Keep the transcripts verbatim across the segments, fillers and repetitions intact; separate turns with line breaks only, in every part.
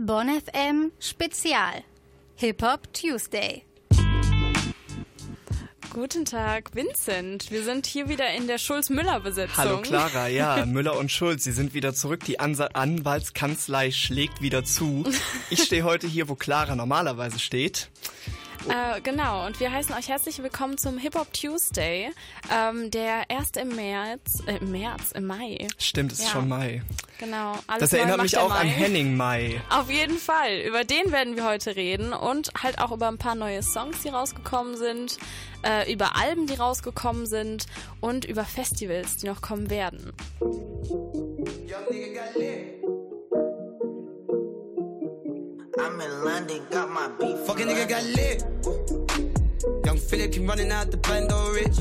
Bonn F M Spezial Hip-Hop Tuesday.
Guten Tag, Vincent. Wir sind hier wieder in der Schulz-Müller-Besetzung.
Hallo Clara, ja, Müller und Schulz, Sie sind wieder zurück. Die Ansa- Anwaltskanzlei schlägt wieder zu. Ich stehe heute hier, wo Clara normalerweise steht.
Äh, genau, und wir heißen euch herzlich willkommen zum Hip-Hop Tuesday, ähm, der erst im März, äh, im März, im Mai.
Stimmt, es ist
ja.
schon Mai.
Genau. Alles
das erinnert
neu
mich
macht
auch
der
an
Mai.
Henning Mai.
Auf jeden Fall, über den werden wir heute reden und halt auch über ein paar neue Songs, die rausgekommen sind, äh, über Alben, die rausgekommen sind und über Festivals, die noch kommen werden.
I'm in London, got my beef.
Fucking nigga got lit. Young Philip keep running out the bando rich.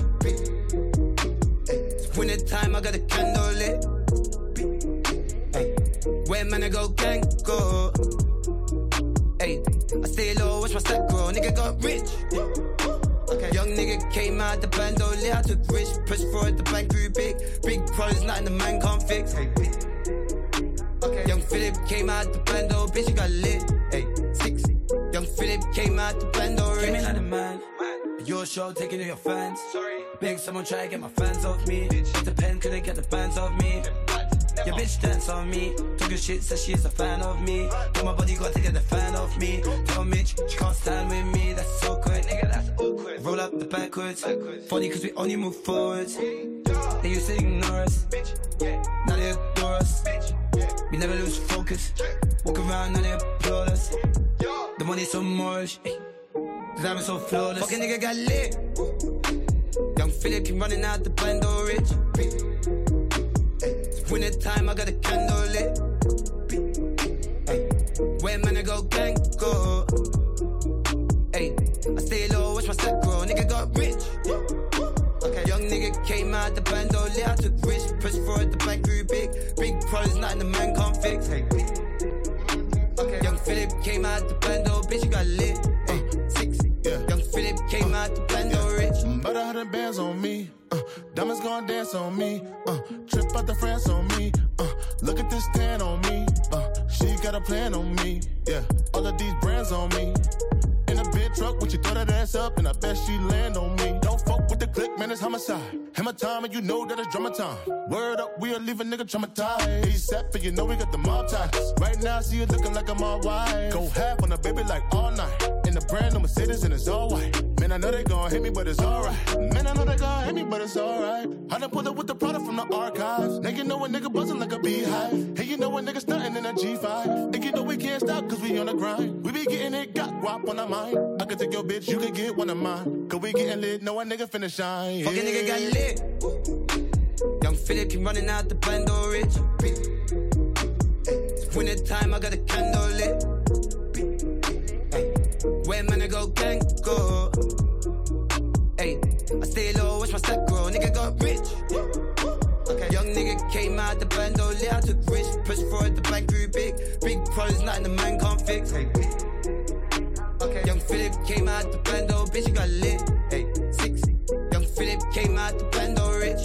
It's winter time, I got a candle lit. Ay, where man I go, gang go. Ay, I stay low, watch my step grow. Nigga got rich. Okay. Young nigga came out the bando lit. I took risk, push forward, the bank grew big. Big problems, nothing the man can't fix. Hey. Okay. Young Philip came out the bando, bitch, you got lit. Hey, six. Young Philip came out the bando, rich. Came in like a man. Your show taking to your fans. Sorry. Big someone try to get my fans off me. Bitch, the pen couldn't get the bands off me. Your bitch dance on me. Took a shit, says she's a fan of me. Tell my body got to get the fan off me. Tell Mitch she can't stand with me. That's so quick, nigga, that's awkward. Roll up the backwards. backwards. Funny cause we only move forwards. They used to ignore us. Now they adore us. We never lose focus. Walk around and they applaud us. The money's so moorish. The diamond's so flawless. Fucking nigga got lit. Young Philip keep running out the bando rich. It's winter time, I got a candle lit. Ay, where man I go, gang go. Ay, I stay low, watch my step grow. Nigga got rich. Okay. Young nigga came out the bando lit. I took risk, push forward, the bank grew big. Big problems, nothing the man can't fix. Hey. Okay. Young Philip came out the bando, bitch, you got lit. Hey. Six. Yeah. Young Philip came uh, out the bando yeah. rich.
About a hundred bands on me. Uh, diamonds gon' dance on me. Uh, trip out the France on me. Uh, look at this tan on me. Uh, she got a plan on me. Yeah. All of these brands on me. In a big truck, when you throw that ass up, and I bet she land on me. Don't fuck with the click, man, it's homicide. Hammer time, and you know that it's drama time. Word up, we'll leave a nigga traumatized. ASAP, and you know we got the mob ties. Right now, I see you looking like I'm all white. Go half on a baby like all night. In the brand new Mercedes, and it's all white. Man, I know they gon' hit me, but it's alright. Man, I know they gon' hit me, but it's alright. I done pulled up with the product from the archives. Now you know a nigga buzzing like a beehive. Hey, you know a nigga stunting in a G five. And you know we can't stop, cause we on the grind. We be getting it, got guap on our mind. I could take your bitch, you could get one of mine. Cause we getting lit, know a nigga finna shine. Yeah.
Fucking nigga got lit. Young Philip keep running out the bando rich. It's winter time, I got a candle lit. Ay, where man I go, gang go. Ay, I stay low, watch my step grow. Nigga got rich. Okay. Young nigga came out the bando lit. I took risk, push forward, the bank grew big. Big problems, nothing the man can't fix. Hey. Okay. Young Philip came out the bando, bitch, you got lit. Hey, six. Young Philip came out the bando rich.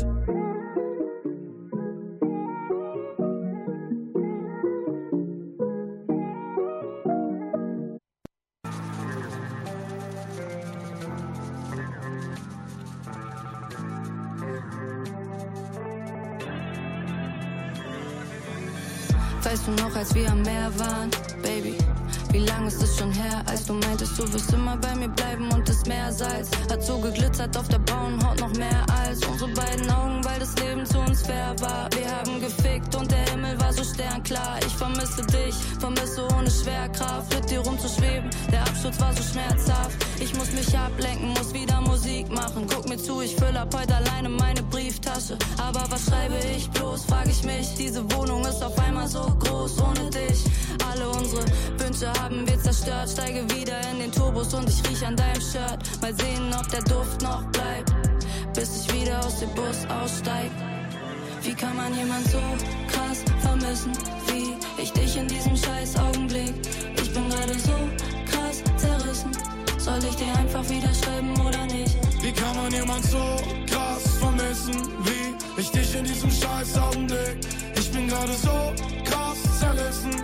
Weißt du noch, als wir am Meer waren, Baby? Wie lang ist es schon her, als du meintest, du wirst immer bei mir bleiben und das Meersalz hat so geglitzert auf der braunen Haut noch mehr als unsere beiden Augen, weil das Leben zu uns fair war. Wir haben gefickt und der Himmel war so sternklar. Ich vermisse dich, vermisse ohne Schwerkraft, mit dir rumzuschweben. Der Absturz war so schmerzhaft. Ich muss mich ablenken, muss wieder Musik machen. Guck mir zu, ich fülle ab heute alleine meine Brieftasche. Aber was schreibe ich bloß, frag ich mich. Diese Wohnung ist auf einmal so groß ohne dich. Alle unsere Wünsche haben wir zerstört. Steige wieder in den Turbos und ich riech an deinem Shirt. Mal sehen, ob der Duft noch bleibt, bis ich wieder aus dem Bus aussteig. Wie kann man jemand so krass vermissen, wie ich dich in diesem scheiß Augenblick? Ich bin gerade so krass zerrissen. Soll ich dir einfach wieder schreiben oder nicht?
Wie kann man jemand so krass vermissen, wie ich dich in diesem scheiß Augenblick? Ich bin gerade so krass zerrissen.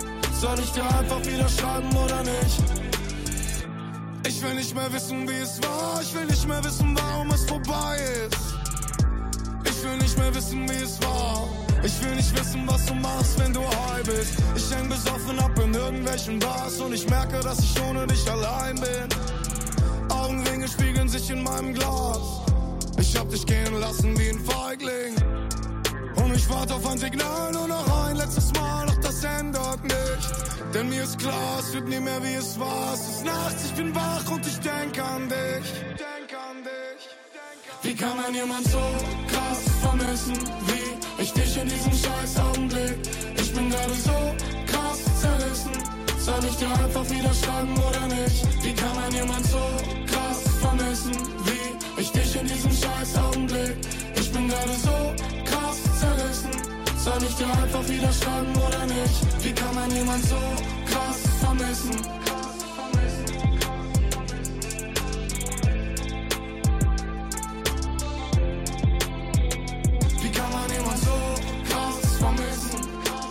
Soll ich dir einfach wieder schreiben oder nicht? Ich will nicht mehr wissen, wie es war. Ich will nicht mehr wissen, warum es vorbei ist. Ich will nicht mehr wissen, wie es war. Ich will nicht wissen, was du machst, wenn du high bist. Ich häng besoffen ab in irgendwelchen Bars und ich merke, dass ich ohne dich allein bin. Augenringe spiegeln sich in meinem Glas. Ich hab dich gehen lassen wie ein Feigling. Und ich warte auf ein Signal, nur noch ein letztes Mal, doch das ändert nichts. Denn mir ist klar, es wird nie mehr wie es war. Es ist nachts, ich bin wach und ich denk an dich. Denk an dich. Wie kann man jemand so krass vermissen wie ich dich in diesem scheiß Augenblick? Ich bin gerade so krass zerrissen. Soll ich dir einfach wieder schreiben oder nicht? Wie kann man jemand so krass vermissen wie ich dich in diesem scheiß Augenblick? Ich bin gerade so krass zerrissen. Soll ich dir einfach wieder schreiben oder nicht? Wie kann man jemand so krass vermissen? Wie kann man jemand so krass vermissen?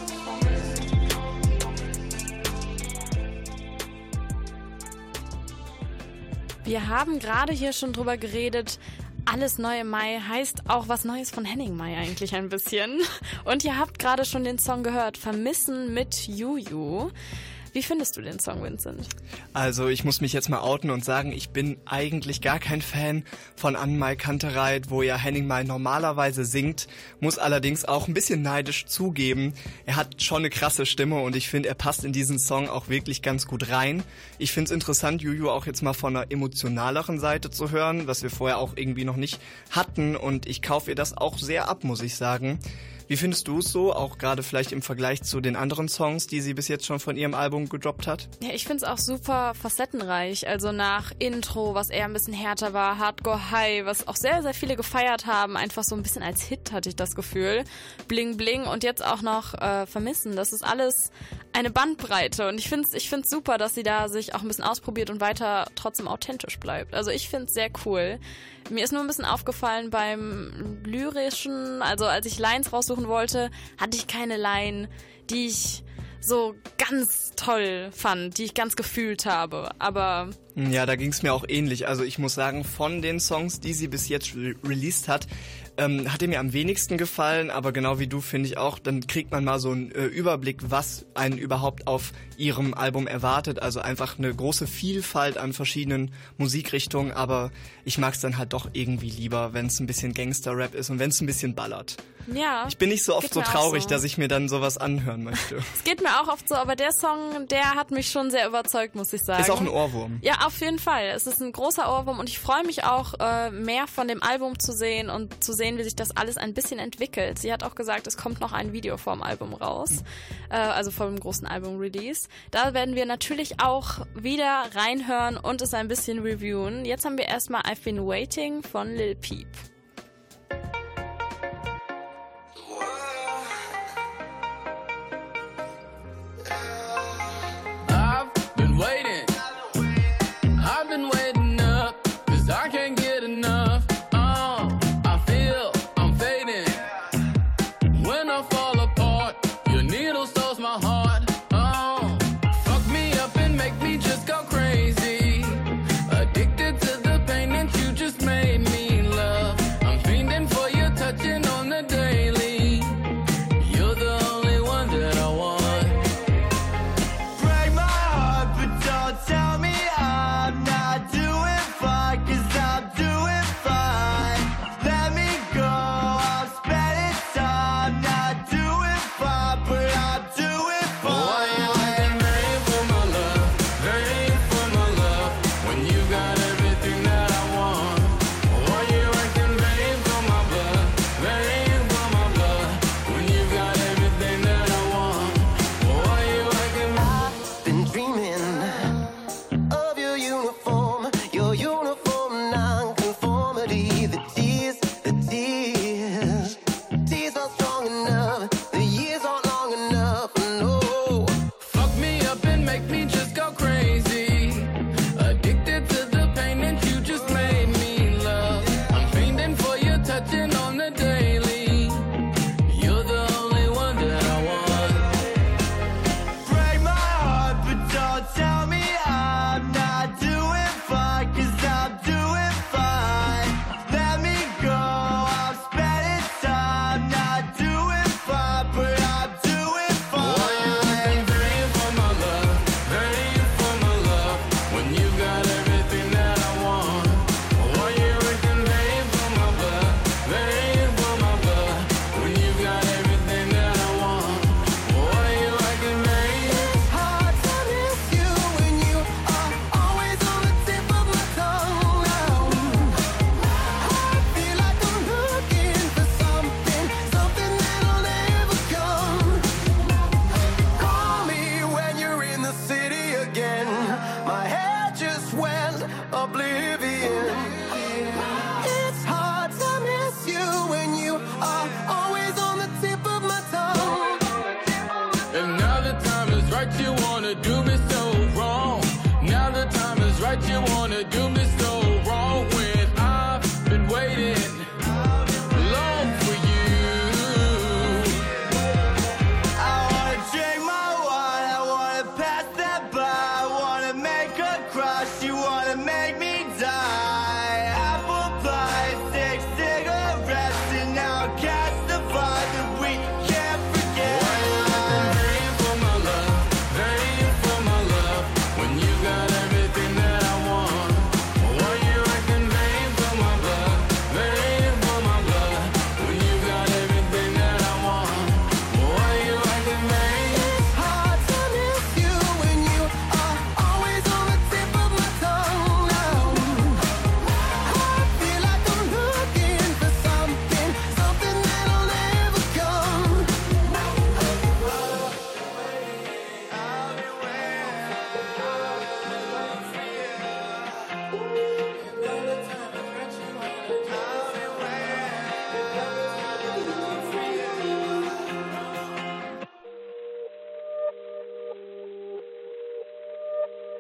Wir haben gerade hier schon drüber geredet, alles neu im Mai heißt auch was Neues von Henning Mai eigentlich ein bisschen. Und ihr habt gerade schon den Song gehört, Vermissen mit Juju. Wie findest du den Song, Vincent?
Also ich muss mich jetzt mal outen und sagen, ich bin eigentlich gar kein Fan von An-Mai Kantereit, wo ja Henning Mai normalerweise singt, muss allerdings auch ein bisschen neidisch zugeben. Er hat schon eine krasse Stimme und ich finde, er passt in diesen Song auch wirklich ganz gut rein. Ich finde es interessant, Juju auch jetzt mal von einer emotionaleren Seite zu hören, was wir vorher auch irgendwie noch nicht hatten, und ich kaufe ihr das auch sehr ab, muss ich sagen. Wie findest du es so, auch gerade vielleicht im Vergleich zu den anderen Songs, die sie bis jetzt schon von ihrem Album gedroppt hat?
Ja, ich finde es auch super facettenreich. Also nach Intro, was eher ein bisschen härter war, Hardcore High, was auch sehr, sehr viele gefeiert haben, einfach so ein bisschen als Hit, hatte ich das Gefühl. Bling Bling und jetzt auch noch äh, Vermissen. Das ist alles eine Bandbreite und ich finde es ich find's super, dass sie da sich auch ein bisschen ausprobiert und weiter trotzdem authentisch bleibt. Also ich finde es sehr cool. Mir ist nur ein bisschen aufgefallen beim Lyrischen, also als ich Lines raussuchen wollte, hatte ich keine Line, die ich so ganz toll fand, die ich ganz gefühlt habe, aber...
Ja, da ging es mir auch ähnlich. Also ich muss sagen, von den Songs, die sie bis jetzt re- released hat, ähm, hat er mir am wenigsten gefallen, aber genau wie du finde ich auch, dann kriegt man mal so einen äh, Überblick, was einen überhaupt auf ihrem Album erwartet. Also einfach eine große Vielfalt an verschiedenen Musikrichtungen, aber ich mag es dann halt doch irgendwie lieber, wenn es ein bisschen Gangster-Rap ist und wenn es ein bisschen ballert.
Ja.
Ich bin nicht so oft so traurig,
so.
dass ich mir dann sowas anhören möchte.
Es geht mir auch oft so, aber der Song, der hat mich schon sehr überzeugt, muss ich sagen.
Ist auch ein Ohrwurm.
Ja, auf jeden Fall. Es ist ein großer Ohrwurm und ich freue mich auch, äh, mehr von dem Album zu sehen und zu sehen, wie sich das alles ein bisschen entwickelt. Sie hat auch gesagt, es kommt noch ein Video vor dem Album raus, mhm. äh, also vor dem großen Album-Release. Da werden wir natürlich auch wieder reinhören und es ein bisschen reviewen. Jetzt haben wir erstmal I've Been Waiting von Lil Peep.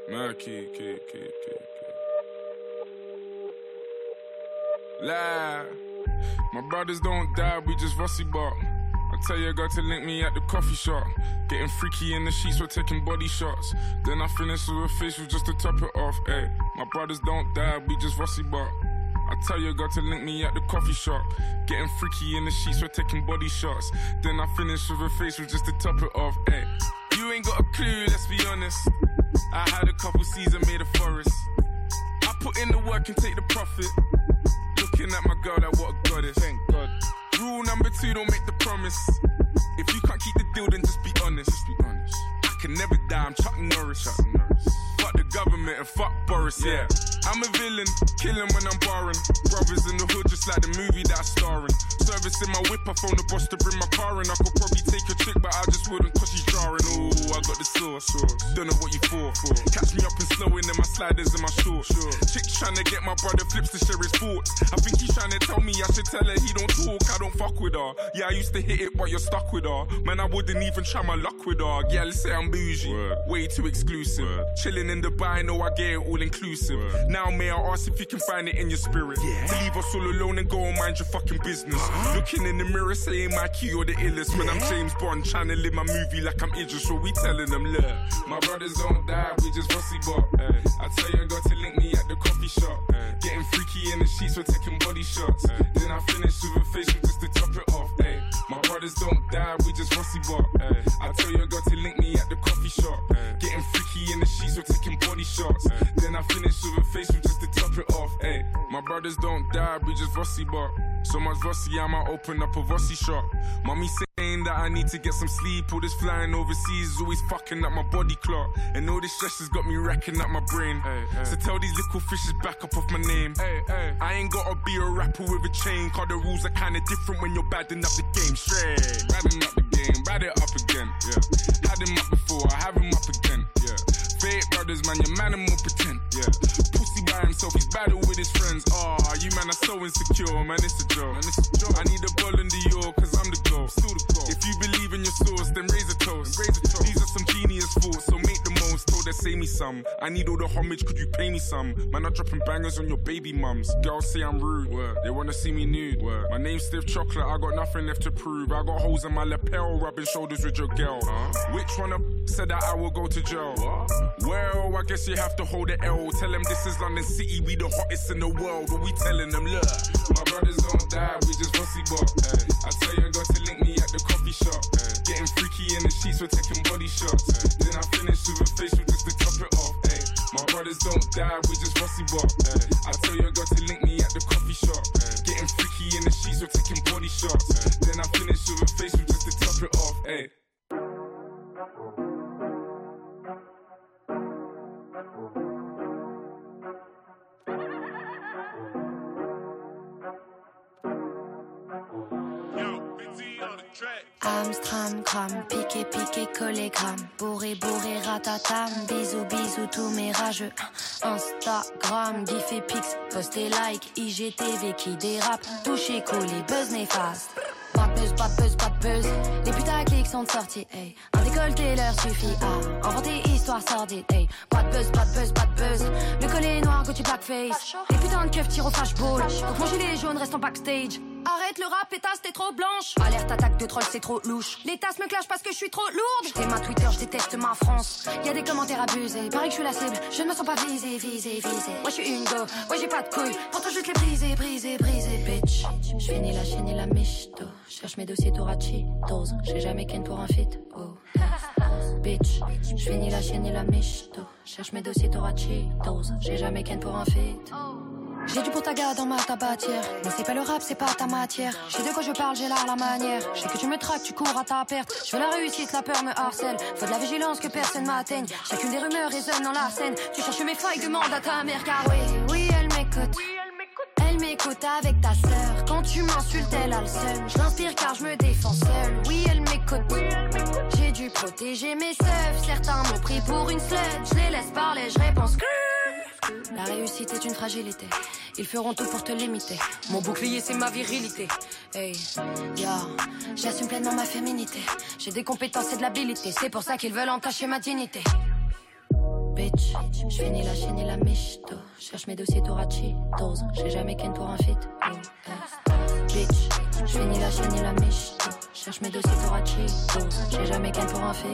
Murky, key, key, key, key. Lie. My brothers don't die, we just rusty bark. I tell your girl to link me at the coffee shop. Getting freaky in the sheets, we're taking body shots. Then I finish with a facial just to top it off. Ay, my brothers don't die, we just rusty bark. I tell your girl to link me at the coffee shop. Getting freaky in the sheets, we're taking body shots. Then I finish with a facial just to top it off. Ay, you ain't got a clue, let's be honest. I had a couple seasons made a forest. I put in the work and take the profit. Looking at my girl like what a goddess. Thank God. Rule number two, don't make the promise. If you can't keep the deal, then just be honest. Just be honest. I can never die, I'm Chuck Norris. Chuck Norris. Fuck the government and fuck Boris, yeah. I'm a villain, killing when I'm barring. Brothers in the hood, just like the movie that I'm starring. Service in my whip, I phone the boss to bring my car in. I could probably take a chick, but I just wouldn't cause she's jarring. Ooh, I got the sauce, don't know what you for. Catch me up and slowing in my sliders and my shorts. Chick's trying to get my brother Flips to share his thoughts. I think he's trying to tell me I should tell her he don't talk, I don't fuck with her. Yeah, I used to hit it, but you're stuck with her. Man, I wouldn't even try my luck with her. Yeah, let's say I'm bougie, word. Way too exclusive. Word. Chilling in Dubai, know I get it all inclusive. Word. Now may I ask if you can find it in your spirit, yeah. To leave us all alone and go and mind your fucking business. Uh-huh. Looking in the mirror saying my key you're the illest, yeah. When I'm James Bond trying to live my movie like I'm Idris, so we telling them, look, my brothers don't die, we just rusty bop. Hey. I tell you I got to link me at the coffee shop. Hey. Getting freaky in the sheets, we're taking body shots. Hey. Then I finish with a facial just to top it off. Hey. My brothers don't die, we just rusty bop. Hey. I tell you I got to link me at the coffee shop. Hey. Getting freaky in the sheets, we're taking body shots. Hey. Then I finish with a facial just to top it off. Hey. My brothers don't die, we just rusty bop. So much Vossi, I might open up a Vossi shop. Mommy saying that I need to get some sleep. All this flying overseas is always fucking up my body clock. And all this stress has got me wrecking up my brain. Ay, ay. So tell these little fishes back up off my name. Ay, ay. I ain't gotta be a rapper with a chain, cause the rules are kinda different when you're badding up the game. Straight, badding up the game, bad it up again. Yeah. Had him up before, I have him up again. Yeah. Fake brothers, man, your man and more pretend. Yeah. Pussy by himself, he's battle with his friends. Ah, oh, you man are so insecure, man, it's a joke. Man, it's a joke. I need a ball in the York, cause I'm the goal. Still the goal. If you believe in your source, then raise a toast. Raise a toast. These are some genius thoughts, so make the most. Told her, say me some. I need all the homage, could you pay me some? Man, I'm dropping bangers on your baby mums. Girls say I'm rude. Word. They wanna see me nude. Word. My name's Stiff Chocolate, I got nothing left to prove. I got holes in my lapel, rubbing shoulders with your girl. Huh? Which one of said that I will go to jail? What? Well, I guess you have to hold the L. Tell them this is London City, we the hottest in the world. What we telling them, look, my brothers don't die, we just rusty bop. I tell you I got to link me at the coffee shop. Ay. Getting freaky in the sheets, we're taking body shots. Ay. Then I finish with a facial just to top it off. Ay. My brothers don't die, we just rusty bop. Ay. I tell you I got to link me at the coffee shop. Ay. Getting freaky in the sheets, we're taking body shots. Ay. Then I finish with a facial just to top it off. Ay.
Amstram, gram, piqué, piqué, collé, gram. Bourré, bourré, ratatam. Bisous, bisous, tous mes rageux. Instagram, gif et pix, post et like. I G T V qui dérape. Touché, collé, buzz néfaste. Pas de buzz, pas de buzz, pas de buzz. Les putaclics sont sortis, hey. Un décolleté leur suffit à inventer histoire sordide, hey. Pas de buzz, pas de buzz, pas de buzz. Le collet noir, Gucci blackface. Les putains de keufs tirent au flashball. Donc mon gilet jaune reste en backstage. Arrête le rap, pétasse, t'es trop blanche. Alerte, attaque de troll, c'est trop louche. Les tasses me clashent parce que je suis trop lourde. J't'ai ma Twitter, je déteste ma France. Y'a des commentaires abusés, pareil que je suis la cible. Je ne me sens pas visée, visée, visée. Moi je suis une go, ouais j'ai pas de couilles. Pourtant juste les briser, briser, briser, bitch. J'finis la chaîne et la michto. Cherche mes dossiers Torachitos. J'ai jamais ken pour un feat, oh. Bitch, j'finis la chaîne et la michto. Cherche mes dossiers Torachitos. J'ai jamais ken pour un feat. J'ai du potaga dans ma tabatière. Mais c'est pas le rap, c'est pas ta matière. Je sais de quoi je parle, j'ai là la manière. Je sais que tu me traques, tu cours à ta perte. Je veux la réussite, la peur me harcèle. Faut de la vigilance que personne m'atteigne. Chacune des rumeurs résonne dans la scène. Tu cherches mes failles, demande à ta mère. Car oui, oui elle m'écoute. Elle m'écoute avec ta sœur. Quand tu m'insultes, elle a le seum. Je l'inspire car je me défends seule. Oui elle m'écoute. J'ai dû protéger mes seufs. Certains m'ont pris pour une slut. Je les laisse parler, je réponds que la réussite est une fragilité. Ils feront tout pour te limiter. Mon bouclier c'est ma virilité. Hey, yo, j'assume pleinement ma féminité. J'ai des compétences et de l'habilité. C'est pour ça qu'ils veulent entacher ma dignité. Bitch, j'fais ni la chienne ni la michto. Cherche mes dossiers tour à Cheetos. J'ai jamais ken pour un fit. Oh, eh. Bitch, j'fais ni la chienne ni la michto. Cherche mes dossiers tour à Cheetos. J'ai jamais ken pour un fit.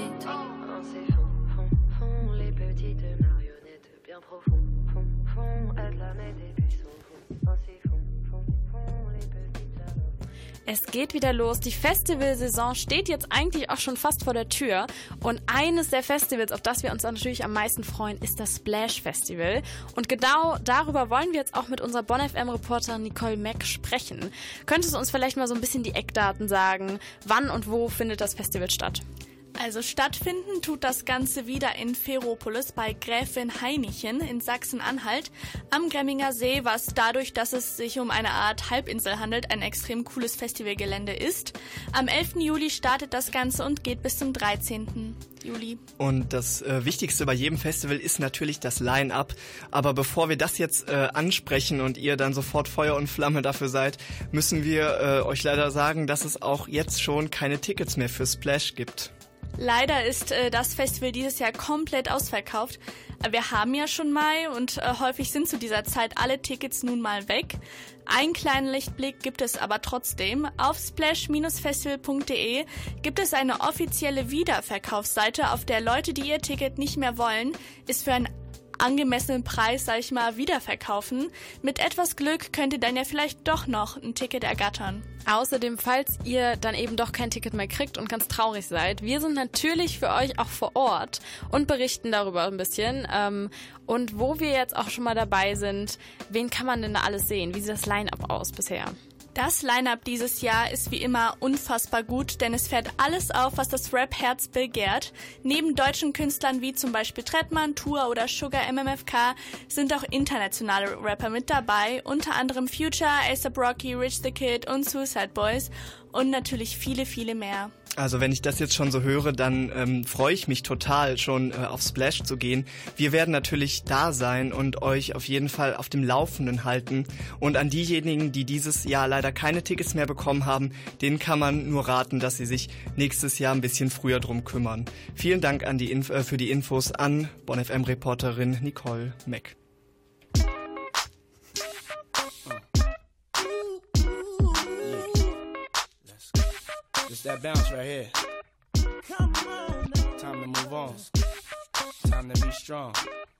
C'est fond, fond, fond, les petites marionnettes bien profondes. Fond, fond, aide la mettre et puis son fond. C'est fond, fond, fond, les petites marionnettes.
Es geht wieder los. Die Festivalsaison steht jetzt eigentlich auch schon fast vor der Tür. Und eines der Festivals, auf das wir uns natürlich am meisten freuen, ist das Splash Festival. Und genau darüber wollen wir jetzt auch mit unserer Bonn F M-Reporterin Nicole Mack sprechen. Könntest du uns vielleicht mal so ein bisschen die Eckdaten sagen? Wann und wo findet das Festival statt?
Also stattfinden tut das Ganze wieder in Ferropolis bei Gräfin Hainichen in Sachsen-Anhalt am Gremminger See, was dadurch, dass es sich um eine Art Halbinsel handelt, ein extrem cooles Festivalgelände ist. Am elften Juli startet das Ganze und geht bis zum dreizehnten Juli.
Und das äh, Wichtigste bei jedem Festival ist natürlich das Line-Up. Aber bevor wir das jetzt äh, ansprechen und ihr dann sofort Feuer und Flamme dafür seid, müssen wir äh, euch leider sagen, dass es auch jetzt schon keine Tickets mehr für Splash gibt.
Leider ist äh, das Festival dieses Jahr komplett ausverkauft. Wir haben ja schon Mai und äh, häufig sind zu dieser Zeit alle Tickets nun mal weg. Einen kleinen Lichtblick gibt es aber trotzdem. Auf splash Bindestrich festival punkt de gibt es eine offizielle Wiederverkaufsseite, auf der Leute, die ihr Ticket nicht mehr wollen, es für einen angemessenen Preis, sag ich mal, wiederverkaufen. Mit etwas Glück könnt ihr dann ja vielleicht doch noch ein Ticket ergattern.
Außerdem, falls ihr dann eben doch kein Ticket mehr kriegt und ganz traurig seid, wir sind natürlich für euch auch vor Ort und berichten darüber ein bisschen. Ähm, und wo wir jetzt auch schon mal dabei sind, wen kann man denn da alles sehen? Wie sieht das Line-Up aus bisher?
Das Line-Up dieses Jahr ist wie immer unfassbar gut, denn es fährt alles auf, was das Rap-Herz begehrt. Neben deutschen Künstlern wie zum Beispiel Trettmann, Tour oder Sugar M M F K sind auch internationale Rapper mit dabei, unter anderem Future, A$AP Rocky, Rich the Kid und Suicide Boys und natürlich viele, viele mehr.
Also wenn ich das jetzt schon so höre, dann ähm, freue ich mich total, schon äh, auf Splash zu gehen. Wir werden natürlich da sein und euch auf jeden Fall auf dem Laufenden halten. Und an diejenigen, die dieses Jahr leider keine Tickets mehr bekommen haben, denen kann man nur raten, dass sie sich nächstes Jahr ein bisschen früher drum kümmern. Vielen Dank an die Inf- äh, für die Infos an Bonn F M-Reporterin Nicole Mack.
It's that bounce right here. Come on, time to move on. Time to be strong.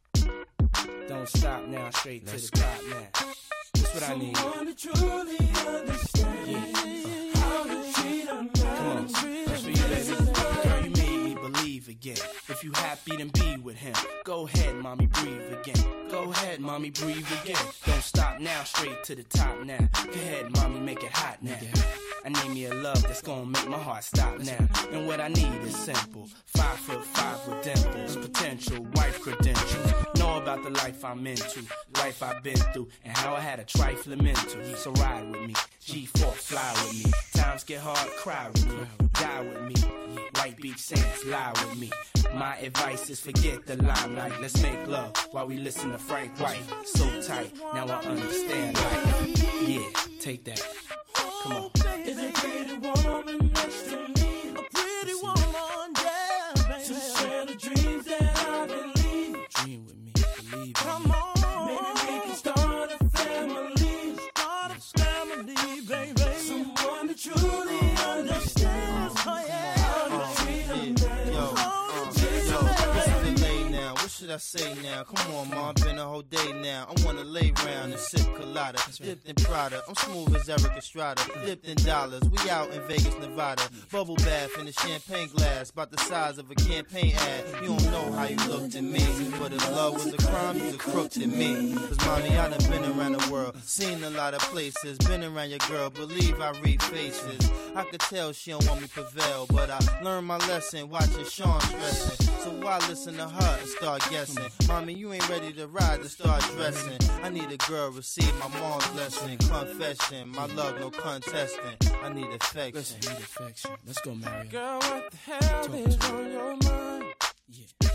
Don't stop now, straight Let's to the top now. That's what I need. Someone to truly understand yeah. how to treat a man. Come on, that's for you, baby. Girl, you made me believe again. If you happy, then be with him. Go ahead, mommy, breathe again. Go ahead, mommy, breathe again. Don't stop now, straight to the top now. Go ahead, mommy, make it hot now. I need me a love that's gonna make my heart stop now. And what I need is simple. Five foot five with dimples, potential wife credentials. Know about the life I'm into, life I've been through, and how I had a trifling mental. So ride with me, G four, fly with me. Times get hard, cry with me, die with me. White Beach Saints, lie with me. My advice is forget the limelight. Let's make love while we listen to Frank White. So tight, now I understand life. Yeah, take that. Come on. Is a pretty woman next to me? A pretty woman, yeah, baby. To share the dreams that I believe. Dream with me, believe. Come on. Maybe we can start a family. Start a family, baby. Someone that truly understands. Oh, yeah. How to treat a man. Yo, uh, yo, what's the lay now? What should I say now? Come on, Mom, been a whole day now. I wanna lay round and sip colada, dipped in Prada. I'm smooth as Eric Estrada, dipped in dollars. We out in Vegas, Nevada. Bubble bath in a champagne glass, about the size of a campaign ad. You don't know how you looked at me, but if love was a crime, you'd have crooked at me. Cause mommy, I done been around the world, seen a lot of places, been around your girl, believe I read faces. I could tell she don't want me prevail, but I learned my lesson watching Sean stressing. So why listen to her and start guessing? Mommy, you ain't ready to ride to start dressing. I need a girl, receive my mom's lesson. Confession, my love, no contesting. I need affection. Listen, need affection. Let's go, Mary. Girl, what the hell Talk is on your mind? Yeah.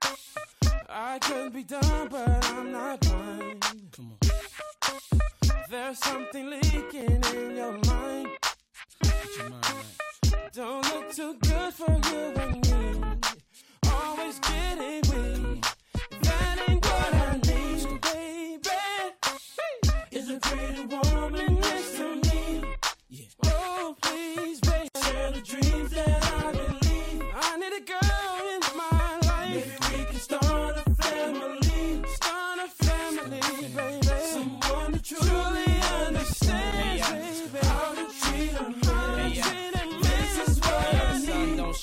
I could be dumb, but I'm not blind. Come on. There's something leaking in your mind. Get your mind right. Don't look too good for you and me. Always getting weak.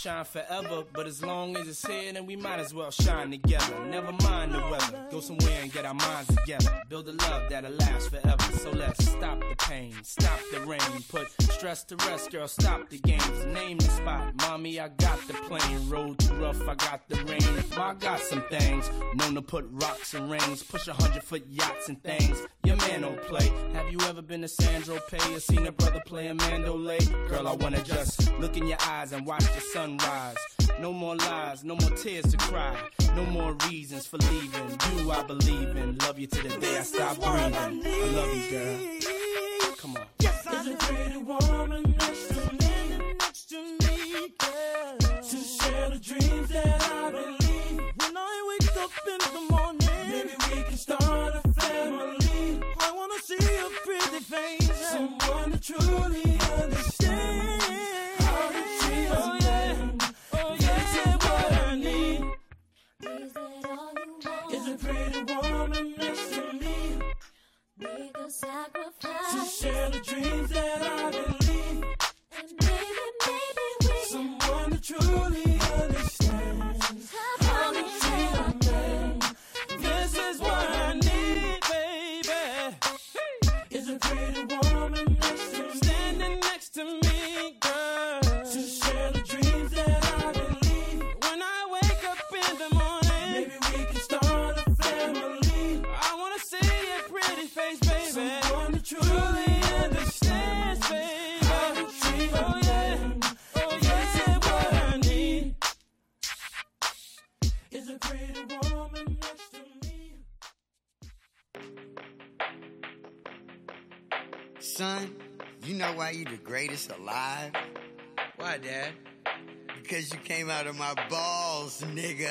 shine forever, but as long as it's here, then we might as well shine together. Never mind the weather, go somewhere and get our minds together. Build a love that'll last forever. So let's stop the pain, stop the rain, put stress to rest, girl, stop the games. Name the spot, mommy, I got the plane. Road too rough, I got the rain. I got some things, known to put rocks and rings, push a hundred foot yachts and things. Your man don't play. Have you ever been to Sandro Pay or seen a brother play a Mandolay? Girl, I wanna just look in your eyes and watch the sunrise. No more lies, no more tears to cry. No more reasons for leaving. You I believe in. Love you to the day I stop breathing. I love you, girl. Come on.
Yes, I There's a pretty woman next to me, next to me, girl. To share the dreams that I believe. When I wake up in the morning, maybe we can start a family. I wanna see a pretty face, someone to truly understand how to treat us. Oh yeah, oh yeah, that's what I need. Is that all you want? Is a pretty woman next to me. Make a sacrifice to share the dreams that I believe. And maybe, maybe we someone to truly understands how to treat a man. This is what I need, baby. Is a pretty woman next to me, standing next to me, girl. To share the dreams that I believe. When I wake up in the morning, maybe we can start a family. I wanna see your pretty face, baby. Someone that truly understands, baby. How to treat a man. Oh yeah, that's what I need. Is a pretty woman next to me.
Son, you know why you the greatest alive?
Why, Dad?
Because you came out of my balls, nigga.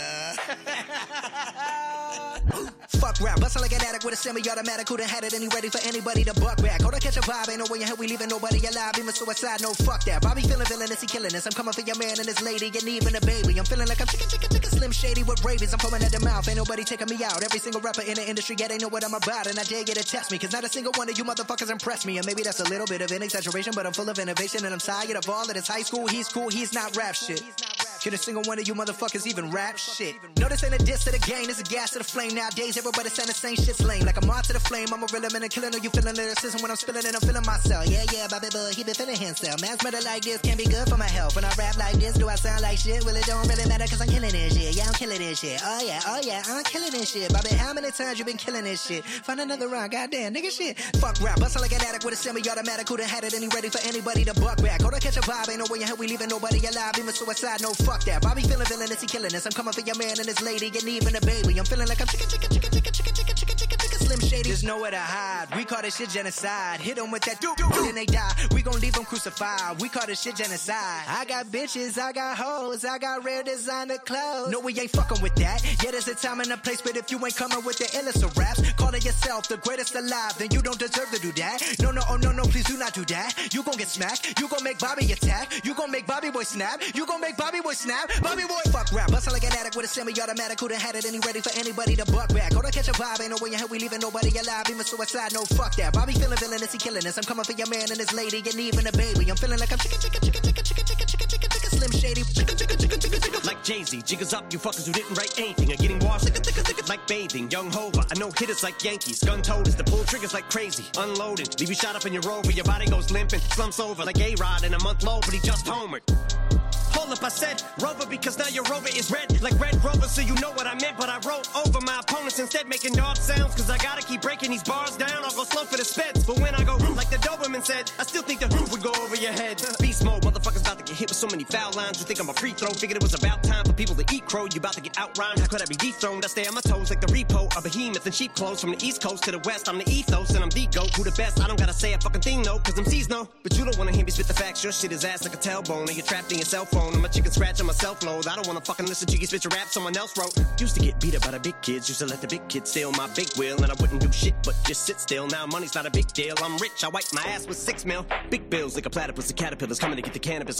Fuck rap, bustin' like an addict with a semi-automatic. Who done had it and he ready for anybody to buck back. Hold on, catch a vibe, ain't no way in hell we leaving nobody alive. Even suicide, no fuck that. Bobby feeling villainous, he killing us. I'm coming for your man and his lady, and even a baby. I'm feeling like I'm chicken, chicken, chicken, Slim Shady with rabies. I'm foaming at the mouth, ain't nobody taking me out. Every single rapper in the industry, yeah, they know what I'm about. And I dare you to test me, cause not a single one of you motherfuckers impress me. And maybe that's a little bit of an exaggeration, but I'm full of innovation. And I'm tired of all of this high school, he's cool, he's not rap shit. Can a single one of you motherfuckers even rap shit? No, this ain't a diss to the game, it's a gas to the flame. Nowadays, everybody saying the same shit's lame. Like a moth to the flame, I'm a real man and killing. Are you feeling lyricism when I'm spilling it? I'm feeling myself. Yeah, yeah, Bobby Bud, he been feeling himself. Man's murder like this can't be good for my health. When I rap like this, do I sound like shit? Well, it don't really matter cause I'm killing this shit. Yeah, I'm killing this shit. Oh yeah, oh yeah, I'm killing this shit. Bobby, how many times you been killing this shit? Find another round, goddamn, nigga shit. Fuck rap, bustin' like an addict with a semi-automatic. Who done had it and he ready for anybody to buck back. Hold on, catch a vibe, ain't no way in hell we leaving nobody alive. Even suicide, no fuck that. Bobby feeling villainous, he killing us. I'm coming for your man and his lady, and even a baby. I'm feeling like I'm chicken, chicken, chicken, chicken, chicken, chicken, chicken, chicken, chicken, Slim Shady. There's nowhere to hide. We call this shit genocide. Hit them with that doo doo, then they die. We gon' leave them crucified. We call this shit genocide. I got bitches, I got hoes, I got rare designer clothes. No, we ain't fucking with that. Yeah, there's a time and a place, but if you ain't coming with the illest of raps, calling yourself the greatest alive, then you don't deserve to do that. No, no, oh no, no, please do not do that. You gon' get smacked. You gon' make Bobby attack. You gon' make Bobby boy snap. You gon' make Bobby boy snap. Bobby boy fuck rap. Bustin' like an addict with a semi-automatic. Who done had it and he ready for anybody to buck back. Hold on, catch a vibe, ain't no way in hell we leaving nobody alive. Even suicide, no fuck that. Bobby feeling villainous, he killing us. I'm coming for your man and his lady, and even a baby. I'm feeling like I'm chicken, chicken, chicken, chicken, chicken, chicken, chicken, chicken, chicken, Slim Shady. Chicken, chicken, chicken, chicken, chicken.
Like Jay-Z, jiggers up, you fuckers who didn't write anything are getting washed. Like bathing, young Hova. I know hitters like Yankees. Gun toters, the pull triggers like crazy. Unloading, leave you shot up in your rover. Your body goes limping, slumps over like A-Rod in a month low, but he just homered. Hold up, I said Rover because now your Rover is red like Red Rover, so you know what I meant. But I wrote over my opponents instead, making dog sounds, cause I gotta keep breaking these bars down. I'll go slow for the speds, but when I go like the Doberman said, I still think the roof would go over your head. Beast mode, motherfuckers about to get hit with so many foul lines. You think I'm a free throw, figured it was about time for people to eat crow. You about to get outrhymed, how could I be dethroned? I stay on my toes like the repo, a behemoth in sheep clothes. From the east coast to the west, I'm the ethos and I'm the goat. Who the best? I don't gotta say a fucking thing, no, cause them C's know. But you don't wanna hear me spit the facts, your shit is ass like a tailbone, and you're trapped in your cell phone. I'm a chicken scratch on my self-load. I don't wanna fucking listen to you spit your rap someone else wrote. Used to get beat up by the big kids, used to let the big kids steal my big wheel, and I wouldn't do shit but just sit still. Now money's not a big deal, I'm rich, I wipe my ass with six mil. Big bills like a platypus, the caterpillars coming to get the cannabis. I'm looking for the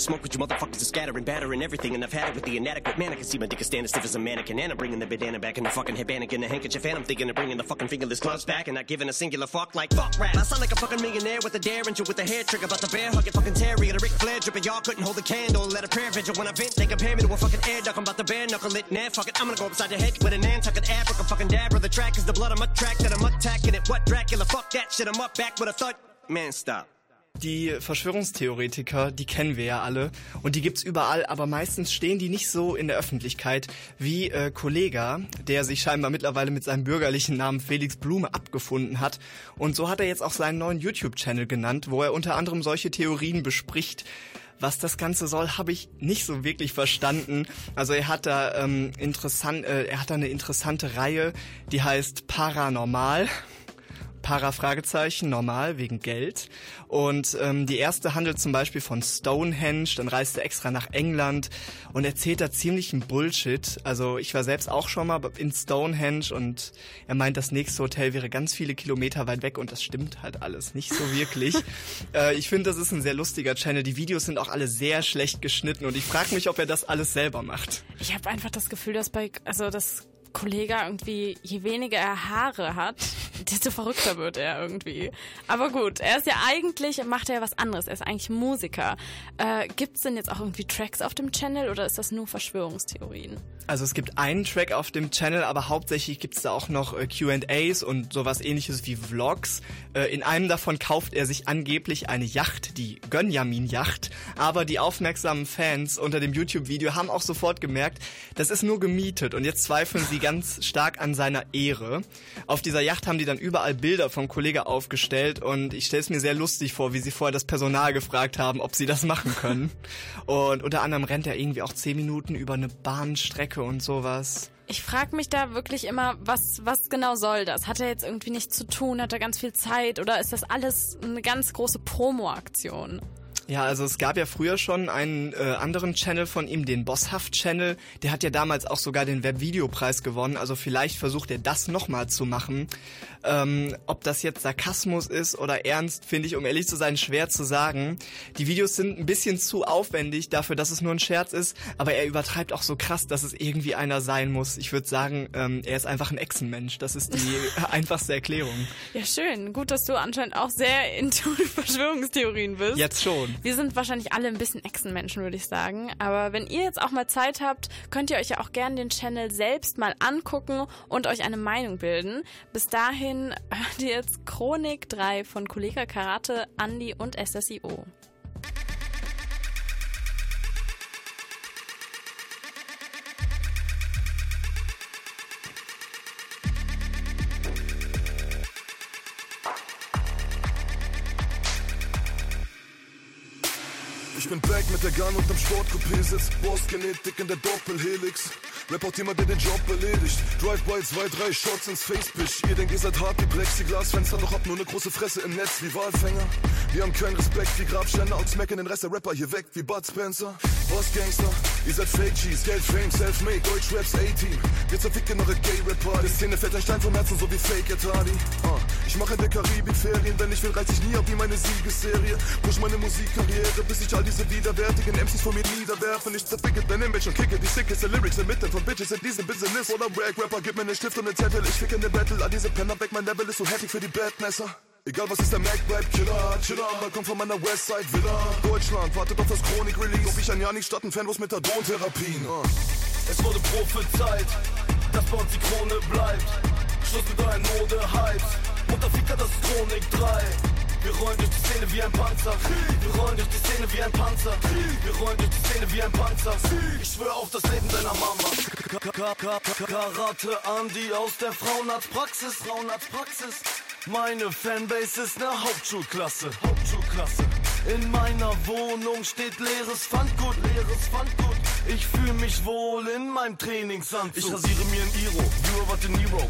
smoke with you motherfuckers to scatter and batter and everything. And I've had it with the inadequate man. I can see my dick is standing stiff as a mannequin. And I'm bringing the bandana back in the fucking headband and the handkerchief. And I'm thinking of bringing the fucking fingerless gloves back. And not giving a singular fuck like fuck rap. I sound like a fucking millionaire with a derringer with a hair trigger. About the bear hug it fucking terrier. The Ric Flair dripping. Y'all couldn't hold a candle. Let a prayer vigil when I vent. They compare me to a fucking air duck. I'm about to bare knuckle it. Nah, fuck it. I'm gonna go upside your head with an Nantucket Africa fucking dab. The track is the blood I'm a track that I'm attacking it. What Dracula? Fuck that shit. I'm up back with a thud. Man, stop.
Die Verschwörungstheoretiker, die kennen wir ja alle und die gibt's überall, aber meistens stehen die nicht so in der Öffentlichkeit wie äh, Kollega, der sich scheinbar mittlerweile mit seinem bürgerlichen Namen Felix Blume abgefunden hat. Und so hat er jetzt auch seinen neuen YouTube-Channel genannt, wo er unter anderem solche Theorien bespricht. Was das Ganze soll, habe ich nicht so wirklich verstanden. Also er hat da ähm, interessant, äh, er hat da eine interessante Reihe, die heißt Paranormal. Para-Fragezeichen, normal, wegen Geld. Und ähm, die erste handelt zum Beispiel von Stonehenge, dann reist er extra nach England und erzählt da ziemlichen Bullshit. Also ich war selbst auch schon mal in Stonehenge und er meint, das nächste Hotel wäre ganz viele Kilometer weit weg und das stimmt halt alles nicht so wirklich. äh, ich finde, das ist ein sehr lustiger Channel. Die Videos sind auch alle sehr schlecht geschnitten und ich frage mich, ob er das alles selber macht.
Ich habe einfach das Gefühl, dass bei, also das Kollege irgendwie, je weniger er Haare hat, desto verrückter wird er irgendwie. Aber gut, er ist ja eigentlich, macht er ja was anderes. Er ist eigentlich Musiker. Äh, gibt's denn jetzt auch irgendwie Tracks auf dem Channel oder ist das nur Verschwörungstheorien?
Also es gibt einen Track auf dem Channel, aber hauptsächlich gibt's da auch noch äh, Q and A's und sowas ähnliches wie Vlogs. Äh, in einem davon kauft er sich angeblich eine Yacht, die Gönjamin-Yacht. Aber die aufmerksamen Fans unter dem YouTube-Video haben auch sofort gemerkt, das ist nur gemietet und jetzt zweifeln sie ganz stark an seiner Ehre. Auf dieser Yacht haben die dann überall Bilder vom Kollege aufgestellt und ich stelle es mir sehr lustig vor, wie sie vorher das Personal gefragt haben, ob sie das machen können. Und unter anderem rennt er irgendwie auch zehn Minuten über eine Bahnstrecke und sowas.
Ich frage mich da wirklich immer, was, was genau soll das? Hat er jetzt irgendwie nichts zu tun? Hat er ganz viel Zeit? Oder ist das alles eine ganz große Promo-Aktion?
Ja, also es gab ja früher schon einen äh, anderen Channel von ihm, den Bosshaft-Channel. Der hat ja damals auch sogar den Webvideopreis gewonnen. Also vielleicht versucht er das nochmal zu machen. Ähm, ob das jetzt Sarkasmus ist oder ernst, finde ich, um ehrlich zu sein, schwer zu sagen. Die Videos sind ein bisschen zu aufwendig dafür, dass es nur ein Scherz ist. Aber er übertreibt auch so krass, dass es irgendwie einer sein muss. Ich würde sagen, ähm, er ist einfach ein Echsenmensch. Das ist die einfachste Erklärung.
Ja, schön. Gut, dass du anscheinend auch sehr into Verschwörungstheorien bist.
Jetzt schon.
Wir sind wahrscheinlich alle ein bisschen Echsenmenschen, würde ich sagen. Aber wenn ihr jetzt auch mal Zeit habt, könnt ihr euch ja auch gerne den Channel selbst mal angucken und euch eine Meinung bilden. Bis dahin hört ihr jetzt Chronik drei von Kollega Karate, Andi und S S I O.
Ich bin back mit der Gun und am Sportcoupé-Sitz. Boss-Genetik in der Doppelhelix. Rapport jemand, der den Job erledigt. Drive-by, zwei, drei Shots ins Facepitch. Ihr denkt, ihr seid hart wie Plexiglasfenster, doch habt nur eine große Fresse im Netz wie Walfänger. Wir haben keinen Respekt wie Grabständer und smacken den Rest der Rapper hier weg wie Bud Spencer. Boss-Gangster, ihr seid Fake-Cheese, Geld, Fame, Self-Made, Deutsch-Raps, A-Team. Wir zerficken eure Gay-Rapper. Die Szene fällt ein Stein vom Herzen, so wie Fake-Etadi. Uh. Ich mache in der Karibik Ferien, wenn ich will, reiß ich nie ab wie meine Siegesserie. Push meine Musikkarriere, bis ich all diese widerwärtigen M Cs von mir niederwerfen. Ich zerficke dein Image und kicke die sickeste Lyrics inmitten von Bitches in diesem Business. Oder Rag-Rapper, gib mir ne Stift und ne Zettel. Ich ficke ne Battle, all diese Penner weg, mein Level ist so heftig für die Badnesser. Egal was ist, der Mac bleibt Killer, Chiller, mal kommt von meiner Westside Villa. Deutschland wartet auf das Chronik-Release, ob ich ein Jahr nicht statt ein Fanbus Methadon-Therapien. Uh.
Es wurde prophezeit, dass bei uns die Krone bleibt. Schluss mit euren Mode-Hypes, Mutterficker, das ist Chronik drei. Wir rollen durch die Szene wie ein Panzer. Wir rollen durch die Szene wie ein Panzer. Wir rollen durch die Szene wie ein Panzer. Ich schwöre auf das Leben deiner Mama. Karate Andi aus der Frauenarztpraxis. Frauenarztpraxis. Meine Fanbase ist ne Hauptschulklasse. Hauptschulklasse. In meiner Wohnung steht leeres Pfandgut. Leeres Pfandgut. Ich fühle mich wohl in meinem Trainingsanzug. Ich rasiere mir ein Iro, Euro, De Niro.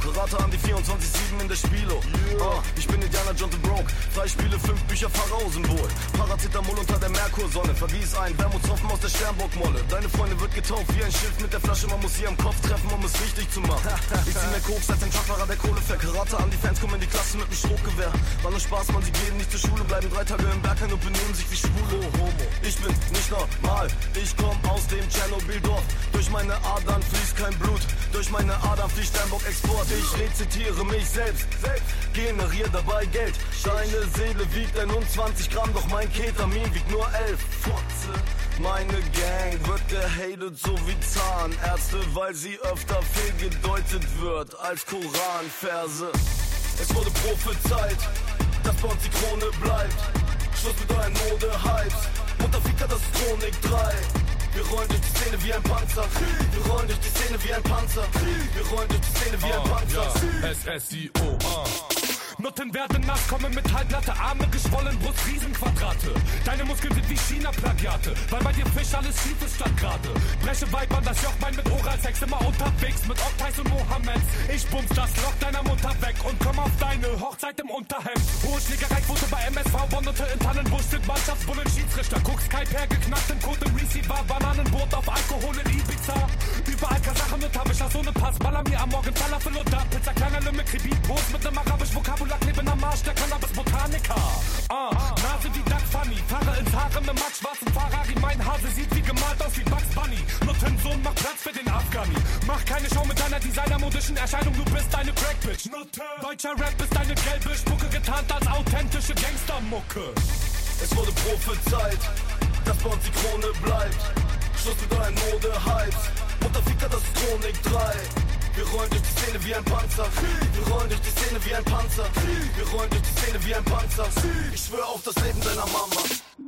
Karate an die vierundzwanzig sieben in der Spielo. Uh, ich bin Indiana Jones and Broke. Freispiele, fünf Bücher, Pharao-Symbol. Paracetamol unter der Merkursonne. Vergieß ein Wermutstropfen aus der Sternbockmolle. Deine Freundin wird getauft wie ein Schiff mit der Flasche. Man muss sie am Kopf treffen, um es richtig zu machen. Ich zieh mehr Koks als ein Truckfahrer, der Kohle fährt. Karate an die Fans, kommen in die Klasse mit dem Strohgewehr. War nur Spaß, man, sie gehen nicht zur Schule, bleiben drei Tage im Berg und benehmen sich wie Schwule. Homo. Ich bin nicht normal, ich komm aus dem Tschernobyl-Dorf. Durch meine Adern fließt kein Blut, durch meine Adern fließt Sternbock-Export. Ich rezitiere mich selbst, generiere dabei Geld. Deine Seele wiegt einundzwanzig Gramm, doch mein Ketamin wiegt nur elf. Fotze. Meine Gang wird gehatet so wie Zahnärzte, weil sie öfter fehlgedeutet wird als Koranverse. Es wurde prophezeit, dass bei uns die Krone bleibt. Schluss mit euren Mode-Hypes, Mutterficker, das ist Chronik drei. Wir rollen durch die Szene wie ein Panzer. Wir rollen durch die Szene wie ein Panzer. Wir rollen durch die Szene wie ein Panzer.
Ja, S S I O, ah. Nutten werden nass, kommen mit halbnatte Arme, geschwollen, Brust, Riesenquadrate. Deine Muskeln sind wie China-Plagiate, weil bei dir Fisch alles schief ist statt gerade. Breche Weibern das Jochbein mit Oralsex, immer unterwegs mit Oktais und Mohammeds. Ich bumms das Loch deiner Mutter weg und komm auf deine Hochzeit im Unterhemd. Hohe Schlägereiquote bei M S V, Bondete in Tannenbusch sind Mannschaftsbullen, Schiedsrichter. Guck's Skype her, geknackt im Code im Receiver, Bananenboot auf Alkohol in Ibiza. Überall Kasachen und Habischer, so ne Pass, baller mir am Morgen Falafel und da Pizza, kleiner Lümmel, Kribitbrot mit nem arabisch Vokabular, kleben am Arsch, der Cannabis-Botaniker. Ah, Nase wie Duck Funny, fahre ins Harem im matt schwarzen Ferrari, mein Hase sieht wie gemalt aus wie Bugs Bunny. Nuttensohn, mach Platz für den Afghani. Mach keine Show mit deiner designermodischen Erscheinung, du bist eine Crack-Bitch. Deutscher Rap ist eine gelbe Spucke, getarnt als authentische Gangstermucke.
Es wurde prophezeit, dass bei uns die Krone bleibt. Schluss mit euren Mode-Hypes, Mutterficker, das ist Chronik drei. Wir rollen durch die Szene wie ein Panzer. Wir rollen durch die Szene wie ein Panzer. Wir rollen durch die Szene wie ein Panzer. Ich schwöre auf das Leben deiner Mama.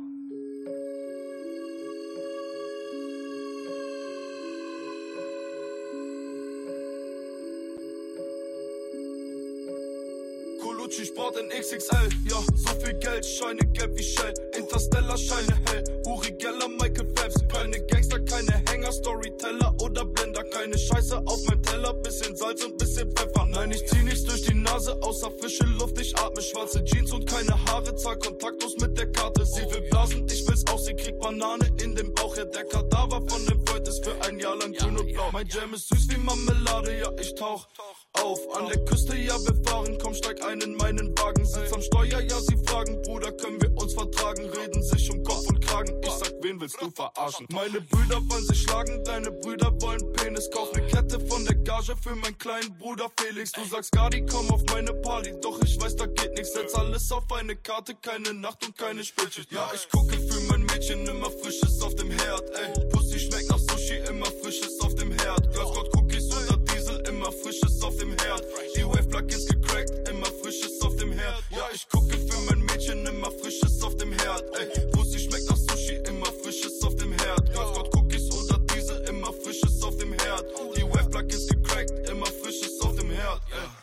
Colucci Sport in X X L. Ja, so viel Geld, Scheine gelb wie Shell. Interstellar, Scheine hell. Uri Geller, Michael Phelps. Keine Gangster, keine Hänger, Storyteller oder Blender. Keine Scheiße auf meinem Teller, bisschen Salz und bisschen Pfeffer. Nein, ich zieh nichts durch die Nase, außer frische Luft. Ich atme schwarze Jeans und keine Haare. Zahl kontaktlos mit der Karte. Sie will blasen, ich will's auch. Sie kriegt Banane in den Bauch. Ja, der Kadaver von dem Freund ist für ein Jahr lang grün und blau. Mein Jam ist süß wie Marmelade, ja, ich tauch auf. An der Küste, ja, wir fahren. Komm, steig ein in meinen Wagen. Sitz am Steuer, ja, sie fragen. Bruder, können wir uns vertragen? Reden sich um Kopf und Kragen. Ich sag, wen willst du verarschen? Meine Brüder wollen sich schlagen. Deine Brüder wollen Penis. Kauf ne Kette von der Gage für meinen kleinen Bruder Felix. Du sagst, Gardi, komm auf meine Party. Doch ich weiß, da geht nichts. Setz alles auf eine Karte. Keine Nacht und keine Spätschicht. Ja, ich gucke für mein Mädchen. Immer Frisches auf dem Herd. Ey, Pussy schmeckt nach Sushi. Immer Frisches auf dem Herd. Glasgott Cookies oder Diesel. Immer Frisches auf dem Herd. Die Wave-Plug ist gecrackt. Immer Frisches auf dem Herd. Ja, ich gucke für mein Mädchen. Immer Frisches auf dem Herd. Ey, Pussy schmeckt nach Sushi. Immer Frisches auf dem Herd. Glasgott Cookies oder Diesel. Immer Frisches auf dem Herd. Die Wave-Plug ist gecrackt. Immer Frisches auf dem Herd.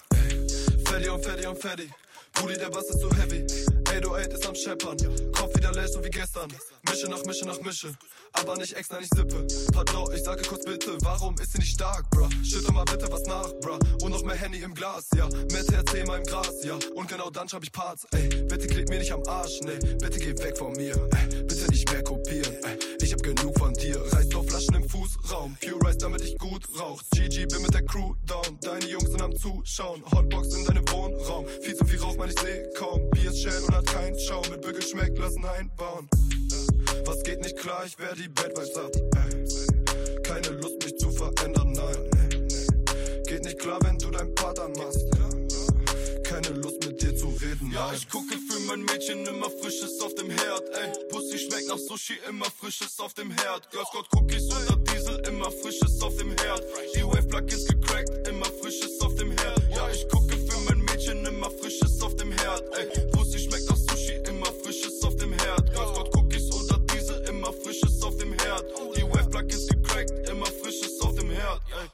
Ey, Fetty und Fetty und Fetty. Brudi, der Bass ist so heavy. acht null acht ist am Scheppern. Kopf wieder leer so wie gestern. Mische nach Mische nach Mische. Aber nicht extra, nicht Sippe. Pardon, ich sage kurz bitte, warum ist sie nicht stark, bruh? Schütte mal bitte was nach, bruh. Und noch mehr Handy im Glas, ja. Mehr T H C mal im Gras, ja. Und genau dann schreib ich Parts, ey. Bitte klebt mir nicht am Arsch, nee. Bitte geh weg von mir, ey. Bitte nicht mehr kopieren, ey. Ich hab genug von dir. Reißt auf Flaschen im Fußraum. Pure Rice, damit ich gut rauch. G G, bin mit der Crew down. Deine Jungs sind am Zuschauen. Hotbox in deinem Wohnraum. Viel zu viel Rauch, man, ich seh kaum. Bier ist schön und hat keinen Schaum. Mit Bügel schmeckt, lassen einbauen. Was geht nicht klar, ich wär die Bad Vibes ab. Ey. Keine Lust, mich zu verändern, nein. Geht nicht klar, wenn du dein Part anmachst. Keine Lust, mit dir zu reden, nein. Ja, ich gucke für mein Mädchen immer Frisches auf dem Herd, ey. Pussy schmeckt nach Sushi, immer Frisches auf dem Herd. Glasgott Cookies oder Diesel, immer Frisches auf dem Herd. Die Wave-Plug ist gecrackt, immer Frisches auf dem Herd. Ja, ich gucke für mein Mädchen immer Frisches auf dem Herd, ey. Pussy schmeckt nach Sushi, immer Frisches auf dem Herd. Glasgott Cookies oder Diesel, immer Frisches auf dem Herd. Die Wave-Plug ist gecrackt, immer Frisches auf dem Herd, ey.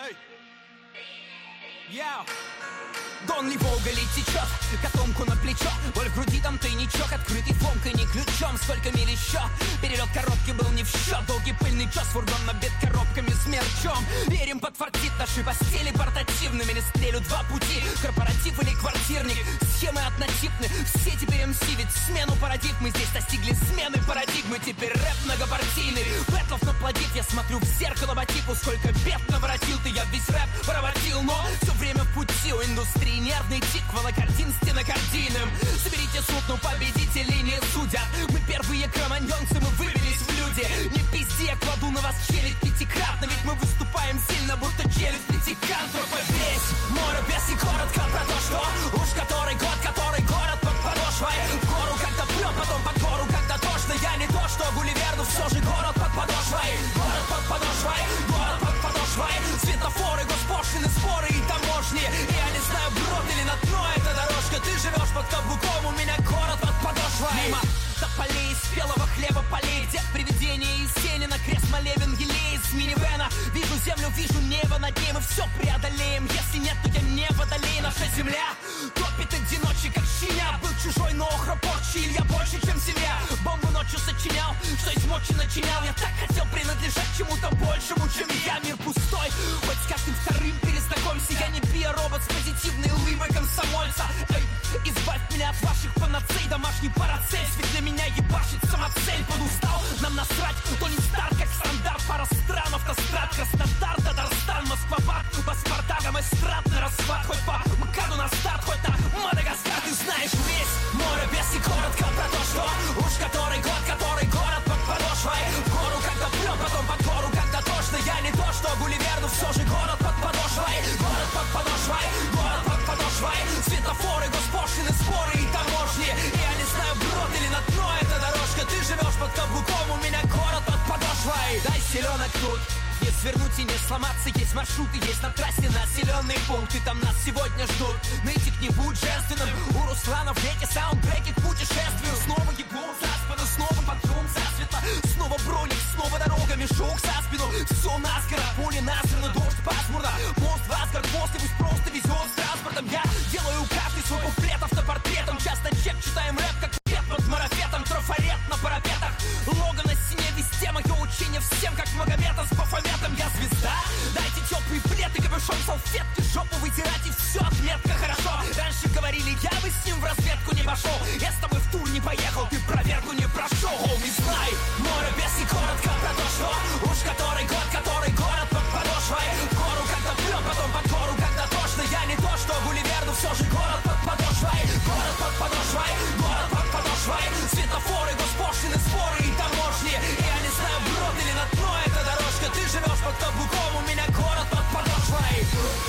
Дон Ливога течет, котомку на плечо. Боль в груди, там тайничок, открытый фомкой, не ключом. Сколько миль еще? Перелет коробки был не в счет. Долгий пыльный час, фургон набит коробками с мерчом. Верим, подфартит наши постели портативными. Не стрелю два пути, корпоратив или квартирник. Схемы однотипны, все теперь эм си. Ведь смену парадигмы здесь достигли смены парадигмы. Теперь рэп многопартийный, бэтлов наплодив. Я смотрю в зеркало по типу, сколько бед наворотил ты. Я весь рэп проводил, но все время в пути у индустрии. Нервный тик, волокордин стенокардийным. Соберите суд, но победителей не судят. Мы первые кроманьонцы, мы выбились в люди. Не пизди, я кладу на вас челюсть пятикратно. Ведь мы выступаем сильно, будто челюсть пятикантропа. Весь море без и коротко про то, что уж который год, который город под подошвой. В гору когда прет, потом под гору когда тошно. Я не то, что Гулливер, но все же город под подошвой. Город под подошвой, город под подошвой. Светофоры, госпошлины, споры и таможни. И я не знаю, брод или на дно эта дорожка. Ты живешь под каблуком, у меня город под подошвой. Мимо тополей, спелого хлеба полей. Где привидения из тени на крест молебен елей из минивэна. Вижу землю, вижу небо над ней. Мы все преодолеем, если нет, то я не водолей. Наша земля топит одиночек, как щеня. Был чужой, но охропорчий, Илья больше, чем семья. Бомбу ночью сочинял, что из мочи начинял. Я так хотел принадлежать чему-то большему, чем я. Мир пустой, хоть с каждым вторым перезнакомься. Я не биоробот с позитивной улыбой комсомольца. Эй, избавь меня от ваших панацей. Домашний парацель, ведь для меня ебашит самоцель. Подустал, нам насрать, то не старт, как стандарт. Пара стран, автострад, Краснодар, Татарстан, Москва-Бак, паспорта, эстрадный расхват. Хоть по МКАДу на старт, хоть на Мадагаскар. Ты знаешь весь море без и коротко про то, что уж который год, который город под подошвой. В гору когда прет, потом под гору когда тошно. Я не то, что Гулливер, но все же город под подошвой. Город под подошвой, город под подошвой. Светофоры, госпошлины, споры и таможни. И я не знаю, брод или на дно эта дорожка. Ты живешь под каблуком, у меня город под подошвой. Дай селенок тут, не свернуть и не сломаться. Есть маршруты, есть на трассе населенные пункты. Там нас сегодня ждут. Нытик не будь женственным. У Руслана в веке саундтреки к путешествию. Снова ебу за спину, снова под шум засветло. Снова броник, снова дорога, мешок за спину. Все наскоро, поле насрано, дождь пасмурно. Мост в Асгард, после пусть просто везет с транспортом. Я делаю каждый свой куплет автопортретом. Часто чек, читаем рэп, как пет под марафетом. Трафарет на парапетах, лого на стене, везде мое учение. Всем как Магомета с Бафометом. Я звезда, дайте теплый плед и капюшон, салфетки, жопу вытирать и все, отметка хорошо. Раньше говорили, я бы с ним в разведку не пошел. Я с тобой в тур не поехал, ты проверку не прошел. Не знай, море без и коротко про то, что уж который год, который город под подошвой. В гору когда прет, потом под гору когда тошно. Я не то, что Гулливер, но все же город под подошвой. Город под подошвой, город под подошвой. Светофоры, госпошлины, споры и таможни. И я не знаю, брод или на дно эта дорожка. Ты живешь под каблуком, у меня город под подошвой.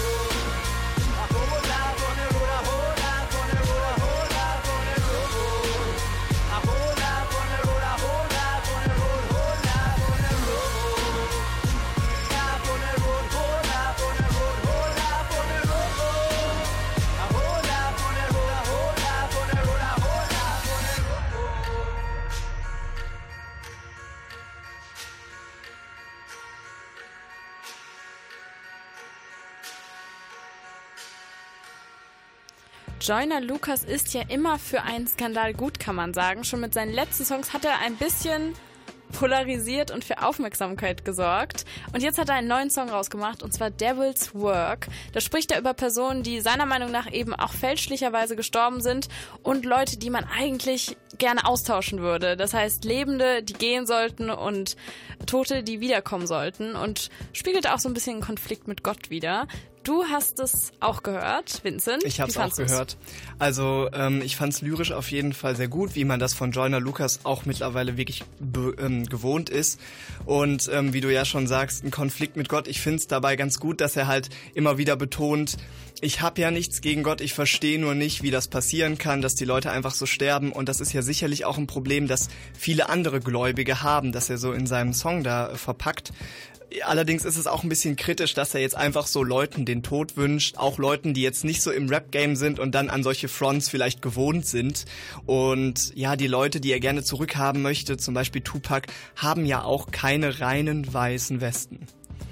Joyner Lucas ist ja immer für einen Skandal gut, kann man sagen. Schon mit seinen letzten Songs hat er ein bisschen polarisiert und für Aufmerksamkeit gesorgt. Und jetzt hat er einen neuen Song rausgemacht, und zwar Devil's Work. Da spricht er über Personen, die seiner Meinung nach eben auch fälschlicherweise gestorben sind, und Leute, die man eigentlich gerne austauschen würde. Das heißt, Lebende, die gehen sollten, und Tote, die wiederkommen sollten, und spiegelt auch so ein bisschen einen Konflikt mit Gott wider. Du hast es auch gehört, Vincent.
Ich habe es auch gehört. Also ähm, ich fand es lyrisch auf jeden Fall sehr gut, wie man das von Joyner Lucas auch mittlerweile wirklich be- ähm, gewohnt ist. Und ähm, wie du ja schon sagst, ein Konflikt mit Gott. Ich finde es dabei ganz gut, dass er halt immer wieder betont, ich habe ja nichts gegen Gott, ich verstehe nur nicht, wie das passieren kann, dass die Leute einfach so sterben. Und das ist ja sicherlich auch ein Problem, das viele andere Gläubige haben, dass er so in seinem Song da verpackt. Allerdings ist es auch ein bisschen kritisch, dass er jetzt einfach so Leuten den Tod wünscht, auch Leuten, die jetzt nicht so im Rap-Game sind und dann an solche Fronts vielleicht gewohnt sind. Und ja, die Leute, die er gerne zurückhaben möchte, zum Beispiel Tupac, haben ja auch keine reinen weißen Westen.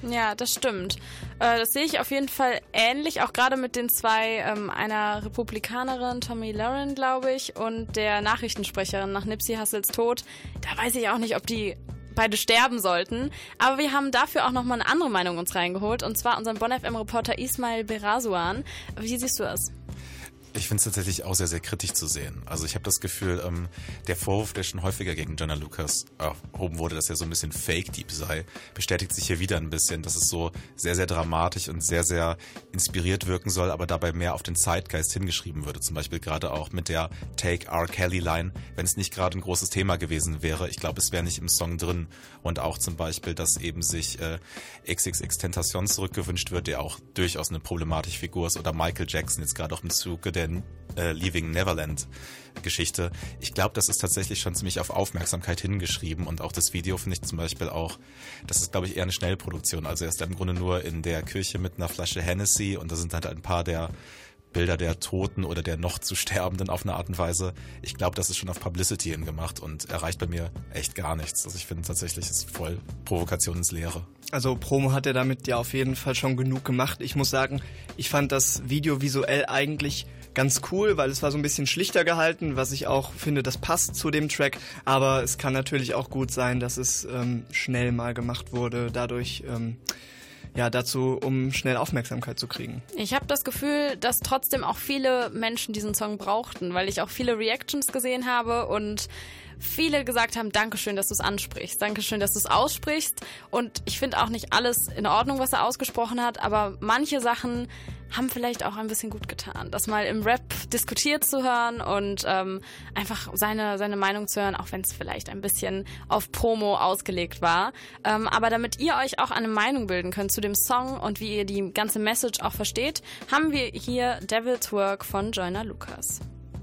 Ja, das stimmt. Äh, das sehe ich auf jeden Fall ähnlich, auch gerade mit den zwei, ähm, einer Republikanerin, Tomi Lahren, glaube ich, und der Nachrichtensprecherin nach Nipsey Hussles Tod. Da weiß ich auch nicht, ob die beide sterben sollten. Aber wir haben dafür auch nochmal eine andere Meinung uns reingeholt, und zwar unseren Bonn F M-Reporter Ismail Berasuan. Wie siehst du das?
Ich finde es tatsächlich auch sehr, sehr kritisch zu sehen. Also ich habe das Gefühl, ähm, der Vorwurf, der schon häufiger gegen Joyner Lucas erhoben wurde, dass er so ein bisschen Fake-Deep sei, bestätigt sich hier wieder ein bisschen, dass es so sehr, sehr dramatisch und sehr, sehr inspiriert wirken soll, aber dabei mehr auf den Zeitgeist hingeschrieben würde. Zum Beispiel gerade auch mit der Take R. Kelly-Line, wenn es nicht gerade ein großes Thema gewesen wäre. Ich glaube, es wäre nicht im Song drin. Und auch zum Beispiel, dass eben sich äh, X X X Tentacion zurückgewünscht wird, der auch durchaus eine problematische Figur ist. Oder Michael Jackson, jetzt gerade auch im Zuge der äh, Leaving Neverland Geschichte. Ich glaube, das ist tatsächlich schon ziemlich auf Aufmerksamkeit hingeschrieben, und auch das Video finde ich zum Beispiel auch, das ist, glaube ich, eher eine Schnellproduktion. Also er ist im Grunde nur in der Kirche mit einer Flasche Hennessy, und da sind halt ein paar der Bilder der Toten oder der noch zu Sterbenden auf eine Art und Weise. Ich glaube, das ist schon auf Publicity hingemacht und erreicht bei mir echt gar nichts. Also ich finde tatsächlich, es ist voll Provokation ins Leere.
Also Promo hat er damit ja auf jeden Fall schon genug gemacht. Ich muss sagen, ich fand das Video visuell eigentlich ganz cool, weil es war so ein bisschen schlichter gehalten, was ich auch finde, das passt zu dem Track. Aber es kann natürlich auch gut sein, dass es ähm, schnell mal gemacht wurde, dadurch ähm, ja dazu, um schnell Aufmerksamkeit zu kriegen.
Ich habe das Gefühl, dass trotzdem auch viele Menschen diesen Song brauchten, weil ich auch viele Reactions gesehen habe und viele gesagt haben, Dankeschön, dass du es ansprichst, Dankeschön, dass du es aussprichst. Und ich finde auch nicht alles in Ordnung, was er ausgesprochen hat, aber manche Sachen haben vielleicht auch ein bisschen gut getan, das mal im Rap diskutiert zu hören und ähm, einfach seine, seine Meinung zu hören, auch wenn es vielleicht ein bisschen auf Promo ausgelegt war. Ähm, aber damit ihr euch auch eine Meinung bilden könnt zu dem Song und wie ihr die ganze Message auch versteht, haben wir hier Devil's Work von Joyner Lucas.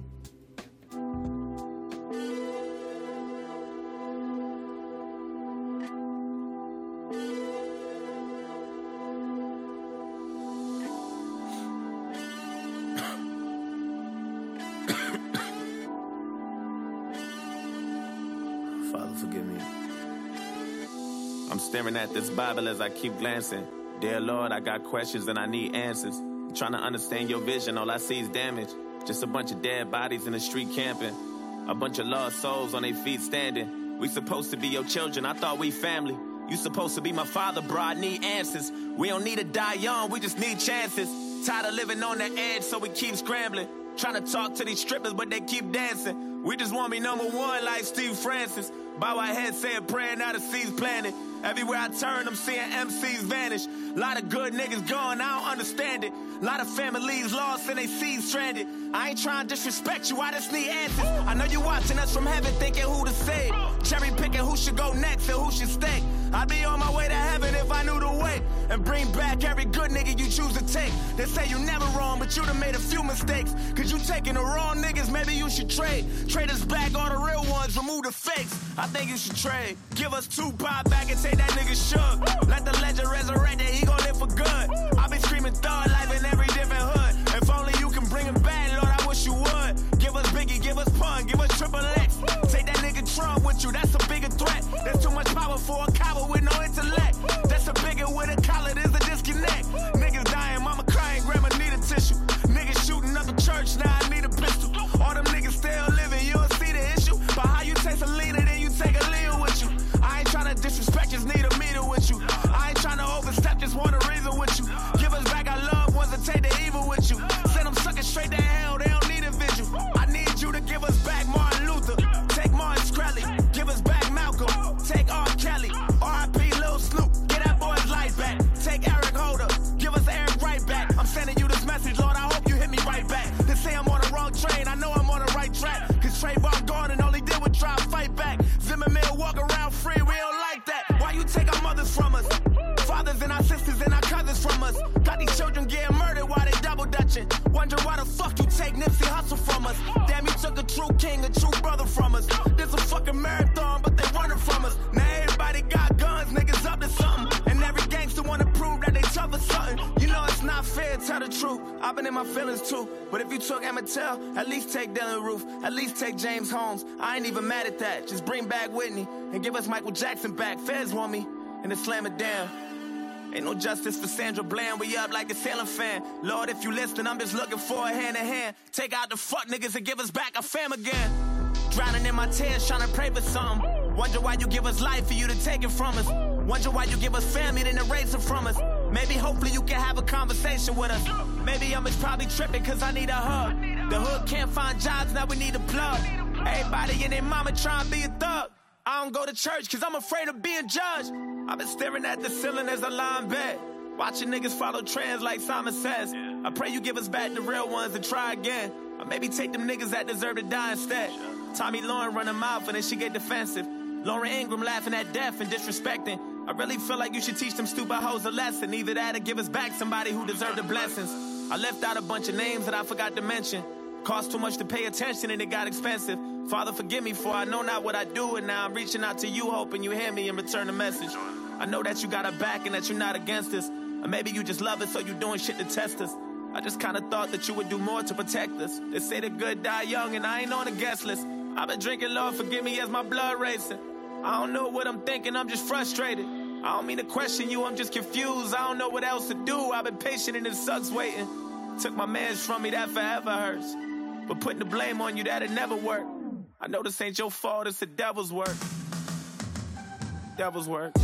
I'm staring at this Bible as I keep glancing. Dear Lord, I got questions and I need answers. I'm trying to understand your vision, all I see is damage. Just a bunch of dead bodies in the street camping. A bunch of lost souls on their feet standing. We supposed to be your children, I thought we family. You supposed to be my father, bro, I need answers. We don't need to die young, we just need chances. Tired of living on the edge, so we keep scrambling. Trying to talk to these strippers, but they keep dancing. We just want to be number one like Steve Francis. Bow our heads, say a prayer, now the seeds planted. Everywhere I turn, I'm seeing M Cs vanish. Lot of good niggas gone, I don't understand it. Lot of families lost and they seeds stranded. I ain't trying to disrespect you, I just need answers. I know you watching us from heaven thinking who to save. Cherry picking who should go next and who should stay. I'd be on my way to heaven if I knew the way. And bring back every good nigga you choose to take. They say you never wrong, but you done made a few mistakes. Cause you taking the wrong niggas, maybe you should trade. Trade us back all the real ones, remove the fakes. I think you should trade. Give us two pop back and take that nigga shook. Let the legend resurrect that he gon' live for good. I been screaming thug life in every different hood. If only you can bring him back, Lord, I wish you would. Give us Biggie, give us Pun, give us Triple X. Take that nigga Trump with you, that's a bigger threat. There's too much power for a coward with no intellect. That's a bigger with a collar, there's a disconnect. Niggas dying, mama crying, grandma need a tissue. Niggas shooting up the church, now I need a pistol. All them niggas still living, you don't see the issue. But how you taste a leader, then you take a leader with you. I ain't tryna disrespect, just need a meter with you. I ain't tryna overstep, just want a reason with you. Give us back our loved ones and take the evil with you. Send them suckers straight to hell, they don't need a vigil. I need you to give us back Martin Luther. Take Martin Shkreli, give us back Malcolm. Take R. Kelly, R I P Lil Snoop. Get that boy's life back. Take Eric Holder, give us Eric right back. I'm sending you this message, Lord, I hope you hit me right back. They say I'm on the wrong train, I know I'm on the right track. Cause Trayvon Gordon only did was try to fight back. Zimmerman walk around free, we don't like that. Why you take our mothers from us? Fathers and our sisters and our cousins from us. Got these children getting murdered while they double dutching. Wonder why the fuck you take Nipsey Hussle from us. Damn, you took a true king, a true brother from us. This a fucking marathon, but they running from us. Now everybody got guns, niggas up to something. And every gangster wanna prove that they tough or something. You know it's not fair, tell the truth. I've been in my feelings too. But if you took Emmett Till, at least take Dylan Roof. At least take James Holmes. I ain't even mad at that. Just bring back Whitney and give us Michael Jackson back. Feds want me and then slam it down. Ain't no justice for Sandra Bland, we up like a sailing fan. Lord, if you listen, I'm just looking for a hand in hand. Take out the fuck niggas and give us back our fam again. Drowning in my tears, trying to pray for something. Wonder why you give us life for you to take it from us. Wonder why you give us family, then erase it from us. Maybe hopefully you can have a conversation with us. Maybe I'm just probably tripping cause I need a hug. The hood can't find jobs, now we need a plug. Everybody and their mama trying to be a thug. I don't go to church cause I'm afraid of being judged. I've been staring at the ceiling as I lie in bed, watching niggas follow trends like Simon Says. I pray you give us back the real ones and try again. Or maybe take them niggas that deserve to die instead. Tommy Lauren run her mouth and then she get defensive. Lauren Ingram laughing at death and disrespecting. I really feel like you should teach them stupid hoes a lesson. Either that or give us back somebody who deserved the blessings. I left out a bunch of names that I forgot to mention. Cost too much to pay attention and it got expensive. Father, forgive me for I know not what I do, and now I'm reaching out to you hoping you hear me and return the message. I know that you got our back and that you're not against us. Or maybe you just love us so you doing shit to test us. I just kinda thought that you would do more to protect us. They say the good die young and I ain't on the guest list. I've been drinking, Lord, forgive me as my blood racing. I don't know what I'm thinking, I'm just frustrated. I don't mean to question you, I'm just confused. I don't know what else to do, I've been patient and it sucks waiting. Took my mans from me, that forever hurts. But putting the blame on you, that'll never work. I know this ain't your fault, it's the devil's work. Devil's work.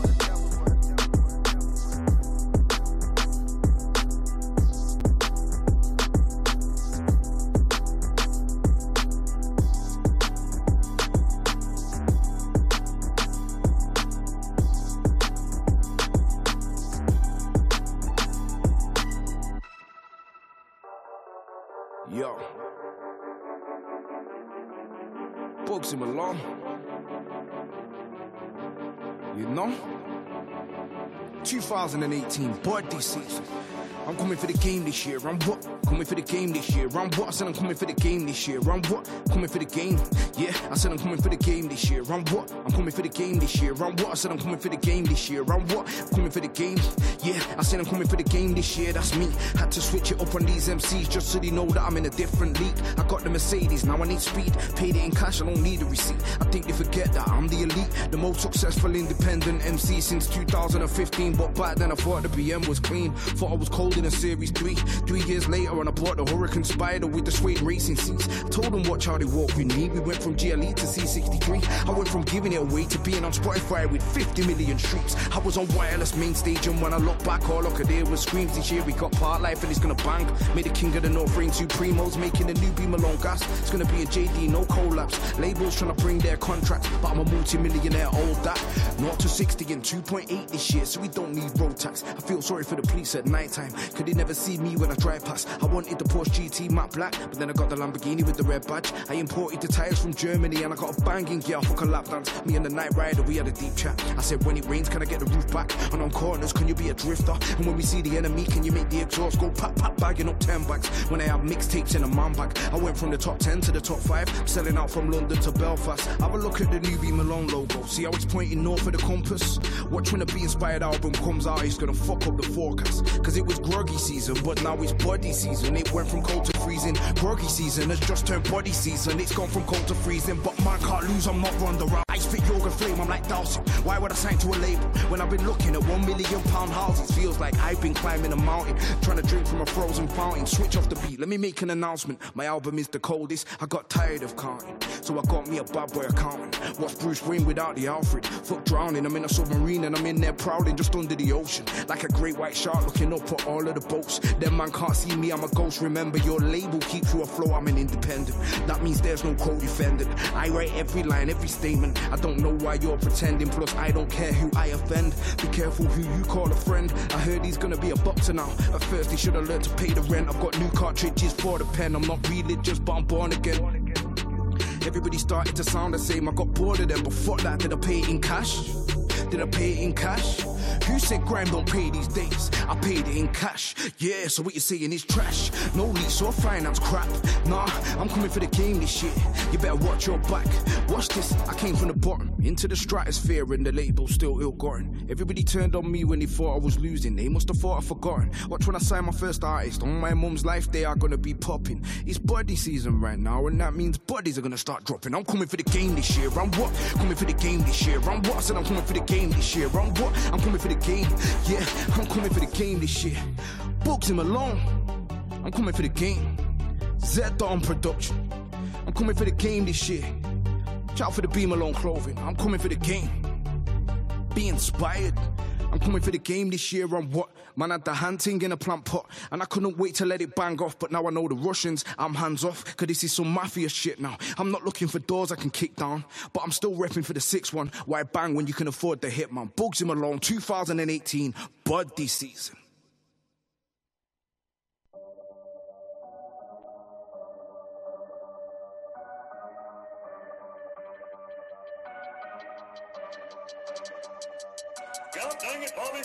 Yo. Bugsy Malone. You know? twenty eighteen birthday season. I'm coming for the game this year. I'm what? Coming for the game this year. I'm what? I said I'm coming for the game this year. I'm what? Coming for the game. Yeah, I said I'm coming for the game this year. I'm what? I'm coming for the game this year. I'm what? I said I'm coming for the game this year. I'm what? Coming for the game. Yeah, I said I'm coming for the game this year. That's me. Had to switch it up on these M Cs just so they know that I'm in a different league. I got the Mercedes, now I need speed. Paid it in cash, I don't need a receipt. I think they forget that I'm the elite, the most successful independent M C since two thousand fifteen. But back then I thought the B M was clean. Thought I was cold in a Series three. Three years later and I bought the Huracan Spider with the suede racing seats. I told them watch how they walk with me. We went from G L E to C sixty-three. I went from giving it away to being on Spotify with fifty million streams. I was on wireless main stage, and when I look back all I could hear was screams. This year we got Part Life and it's gonna bang. Made the king of the North Rain Supremos, making a new B Malone gas. It's gonna be a J D, no collapse. Labels trying to bring their contracts, but I'm a multi-millionaire, all that. zero to sixty in two point eight this year, so we don't need road tax. I feel sorry for the police at night time, could they never see me when I drive past. I wanted the Porsche G T matte black, but then I got the Lamborghini with the red badge. I imported the tires from Germany and I got a banging girl for a lap dance. Me and the night rider, we had a deep chat. I said when it rains, can I get the roof back? And on corners, can you be a drifter? And when we see the enemy, can you make the exhaust go pop, pop, bagging up ten bags? When I have mixtapes in a man bag, I went from the top ten to the top five, selling out from London to Belfast. Have a look at the new B Malone logo, see how it's pointing north of the compass? Watch when the Be Inspired album comes out, it's gonna fuck up the forecast. Cause it was groggy season, but now it's body season. It went from cold to freezing. Groggy season has just turned body season. It's gone from cold to freezing, but man can't lose, I'm not Ronda Rousey. I spit yoga flame, I'm like Dawson. Why would I sign to a label when I've been looking at one million pound houses? Feels like I've been climbing a mountain, trying to drink from a frozen fountain. Switch off the beat, let me make an announcement. My album is the coldest, I got tired of counting, so I got me a bad boy accountant. What's Bruce Wayne without the Alfred? Fuck drowning, I'm in a submarine and I'm in there prowling just under the ocean, like a great white shark looking up at all of the boats. Them man can't see me, I'm a ghost. Remember, your label keeps you afloat, I'm an independent. That means there's no co-defendant. I write every line, every statement. I don't know why you're pretending, plus I don't care who I offend. Be careful who you call a friend. I heard he's gonna be a boxer now. At first he should have learned to pay the rent. I've got new cartridges for the pen. I'm not religious, but I'm born again. Everybody started to sound the same, I got bored of them, but fuck that, did I pay it in cash? Did I pay it in cash? Who said grime don't pay these days? I paid it in cash. Yeah, so what you're saying is trash. No lease or finance crap. Nah, I'm coming for the game this year. You better watch your back. Watch this, I came from the bottom into the stratosphere and the label still ill-gotten. Everybody turned on me when they thought I was losing. They must have thought I'd forgotten. Watch when I sign my first artist. On my mum's life, they are gonna be popping. It's buddy season right now, and that means buddies are gonna start dropping. I'm coming for the game this year. I'm what? Coming for the game this year. I'm what? I said I'm coming for the game this year. I'm what? I'm coming coming for the game. Yeah, I'm coming for the game this year. Bugsy Malone, I'm coming for the game. Z-Dawn Production, I'm coming for the game this year. Shout out for the B Malone clothing, I'm coming for the game. Be inspired, I'm coming for the game this year. On what? Man had the hunting in a plant pot, and I couldn't wait to let it bang off. But now I know the Russians, I'm hands off, cause this is some mafia shit now. I'm not looking for doors I can kick down, but I'm still repping for the six one. Why bang when you can afford the hit, man? Bugsy Malone, two thousand eighteen, Bud this season.
God dang it, Bobby.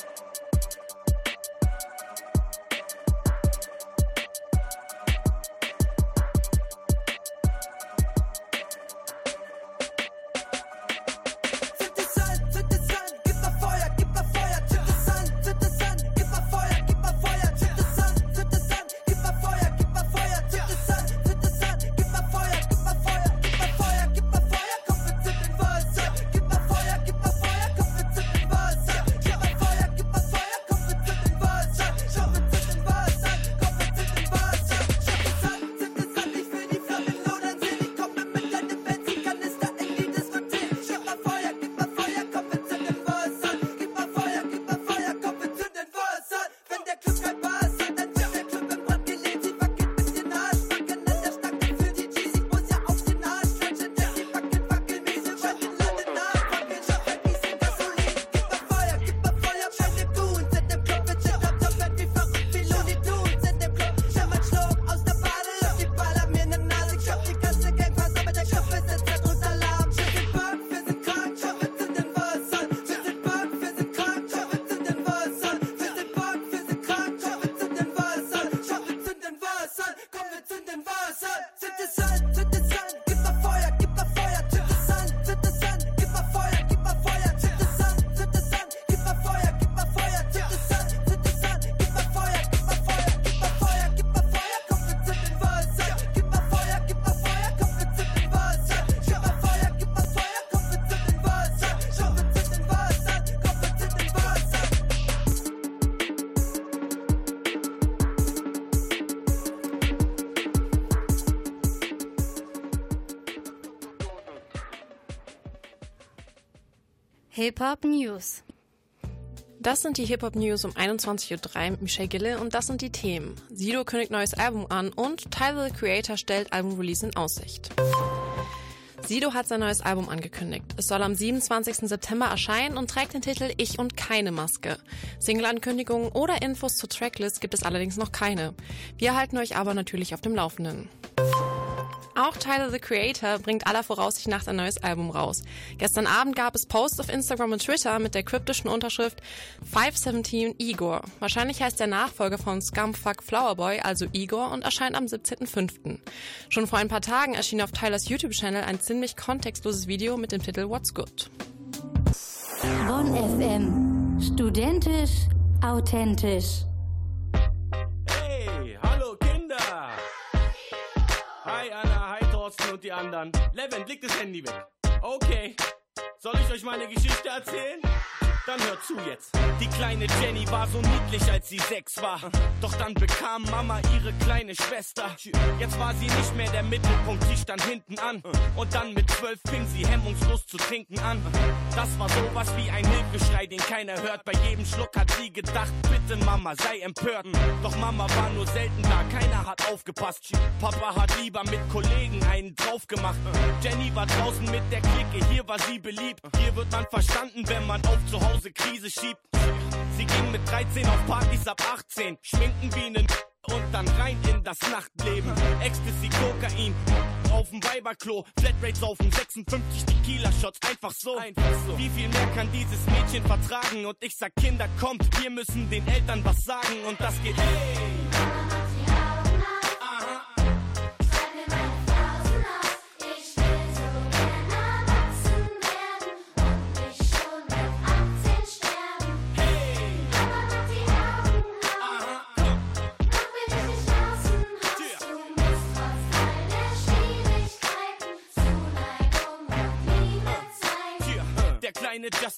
Hip-Hop News.
Das sind die Hip-Hop-News um einundzwanzig Uhr drei mit Michelle Gille und das sind die Themen. Sido kündigt neues Album an und Tyler, the Creator, stellt Album-Release in Aussicht. Sido hat sein neues Album angekündigt. Es soll am siebenundzwanzigsten September erscheinen und trägt den Titel Ich und keine Maske. Single-Ankündigungen oder Infos zur Tracklist gibt es allerdings noch keine. Wir halten euch aber natürlich auf dem Laufenden. Auch Tyler, the Creator, bringt aller Voraussicht nach ein neues Album raus. Gestern Abend gab es Posts auf Instagram und Twitter mit der kryptischen Unterschrift five seventeen Igor. Wahrscheinlich heißt der Nachfolger von Scumfuck Flowerboy also Igor und erscheint am siebzehnten fünften Schon vor ein paar Tagen erschien auf Tylers YouTube-Channel ein ziemlich kontextloses Video mit dem Titel What's Good.
Bonn F M. Studentisch, authentisch.
Hey, hallo Kinder! Hi Anna, hi Thorsten und die anderen. Levent, leg das Handy weg. Okay. Soll ich euch meine Geschichte erzählen? Dann hört zu jetzt. Die kleine Jenny war so niedlich, als sie sechs war. Doch dann bekam Mama ihre kleine Schwester. Jetzt war sie nicht mehr der Mittelpunkt, sie stand hinten an. Und dann mit zwölf fing sie hemmungslos zu trinken an. Das war sowas wie ein Hilfeschrei, den keiner hört. Bei jedem Schluck hat sie gedacht, bitte Mama, sei empört. Doch Mama war nur selten da, keiner hat aufgepasst. Papa hat lieber mit Kollegen einen drauf gemacht. Jenny war draußen mit der Clique, hier war sie beliebt. Hier wird man verstanden, wenn man auf zu Hause Krise schiebt. Sie ging mit dreizehn auf Partys ab achtzehn, schminken wie nen und dann rein in das Nachtleben. Ecstasy, Kokain, auf dem Weiberklo, Flatrate saufen, sechsundfünfzig Tequila-Shots, einfach so. einfach so. Wie viel mehr kann dieses Mädchen vertragen? Und ich sag, Kinder, kommt, wir müssen den Eltern was sagen. Und das geht, hey!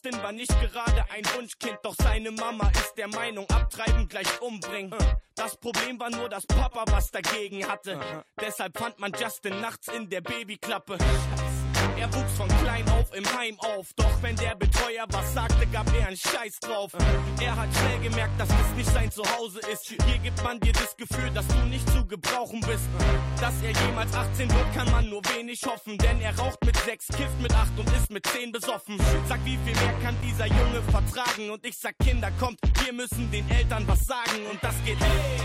Justin war nicht gerade ein Wunschkind, doch seine Mama ist der Meinung, abtreiben gleich umbringen. Das Problem war nur, dass Papa was dagegen hatte. Deshalb fand man Justin nachts in der Babyklappe. Er wuchs von klein auf im Heim auf, doch wenn der Betreuer was sagte, gab er einen Scheiß drauf. Er hat schnell gemerkt, dass das nicht sein Zuhause ist. Hier gibt man dir das Gefühl, dass du nicht zu gebrauchen bist. Dass er jemals achtzehn wird, kann man nur wenig hoffen, denn er raucht mit sechs, kifft mit acht und ist mit zehn besoffen. Sag, wie viel mehr kann dieser Junge vertragen? Und ich sag, Kinder, kommt, wir müssen den Eltern was sagen. Und das geht, hey!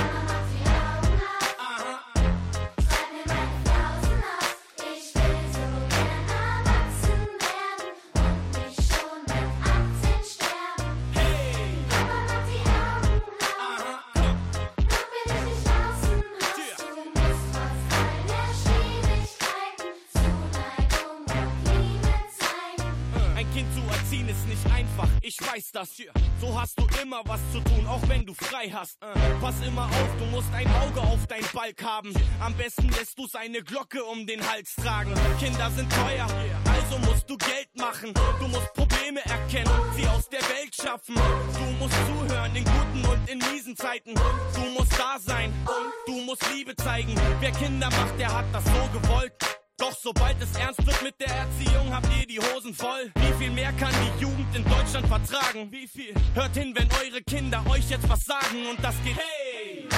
Ich weiß das hier, so hast du immer was zu tun, auch wenn du frei hast. Pass immer auf, du musst ein Auge auf dein Balk haben. Am besten lässt du seine Glocke um den Hals tragen. Kinder sind teuer, also musst du Geld machen. Du musst Probleme erkennen und sie aus der Welt schaffen. Du musst zuhören in guten und in miesen Zeiten. Du musst da sein und du musst Liebe zeigen. Wer Kinder macht, der hat das so gewollt. Doch sobald es ernst wird mit der Erziehung, habt ihr die Hosen voll. Wie viel mehr kann die Jugend in Deutschland vertragen? Wie viel? Hört hin, wenn eure Kinder euch jetzt was sagen und das geht, hey!